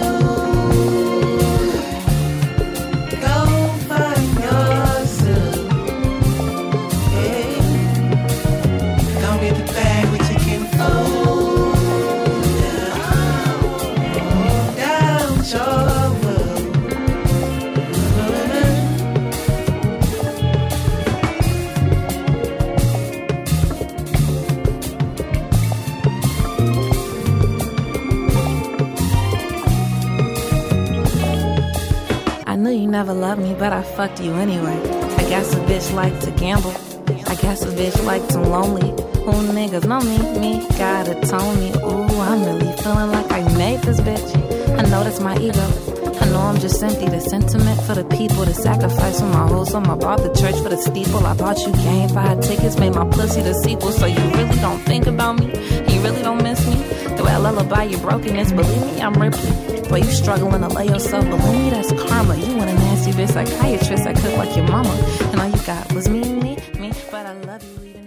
Go find yourself. Don't get the bag with your kinfolk. Down your world. I knew you never loved me, but I fucked you anyway. I guess a bitch like to gamble. I guess a bitch like to lonely. Who niggas know me? Me gotta tell me. Ooh, I'm really feeling like I made this bitch. I know that's my ego. I know I'm just empty. The sentiment for the people. The sacrifice for my hoes. I bought the church for the steeple. I bought you game 5 tickets. Made my pussy the sequel. So you really don't think about me? You really don't miss me? The way I lullaby your brokenness. Believe me, I'm Ripley. Boy, you struggling to lay yourself. Believe me, that's karma. You want a nasty bitch psychiatrist. I cook like your mama. And all you got was me, but I love you.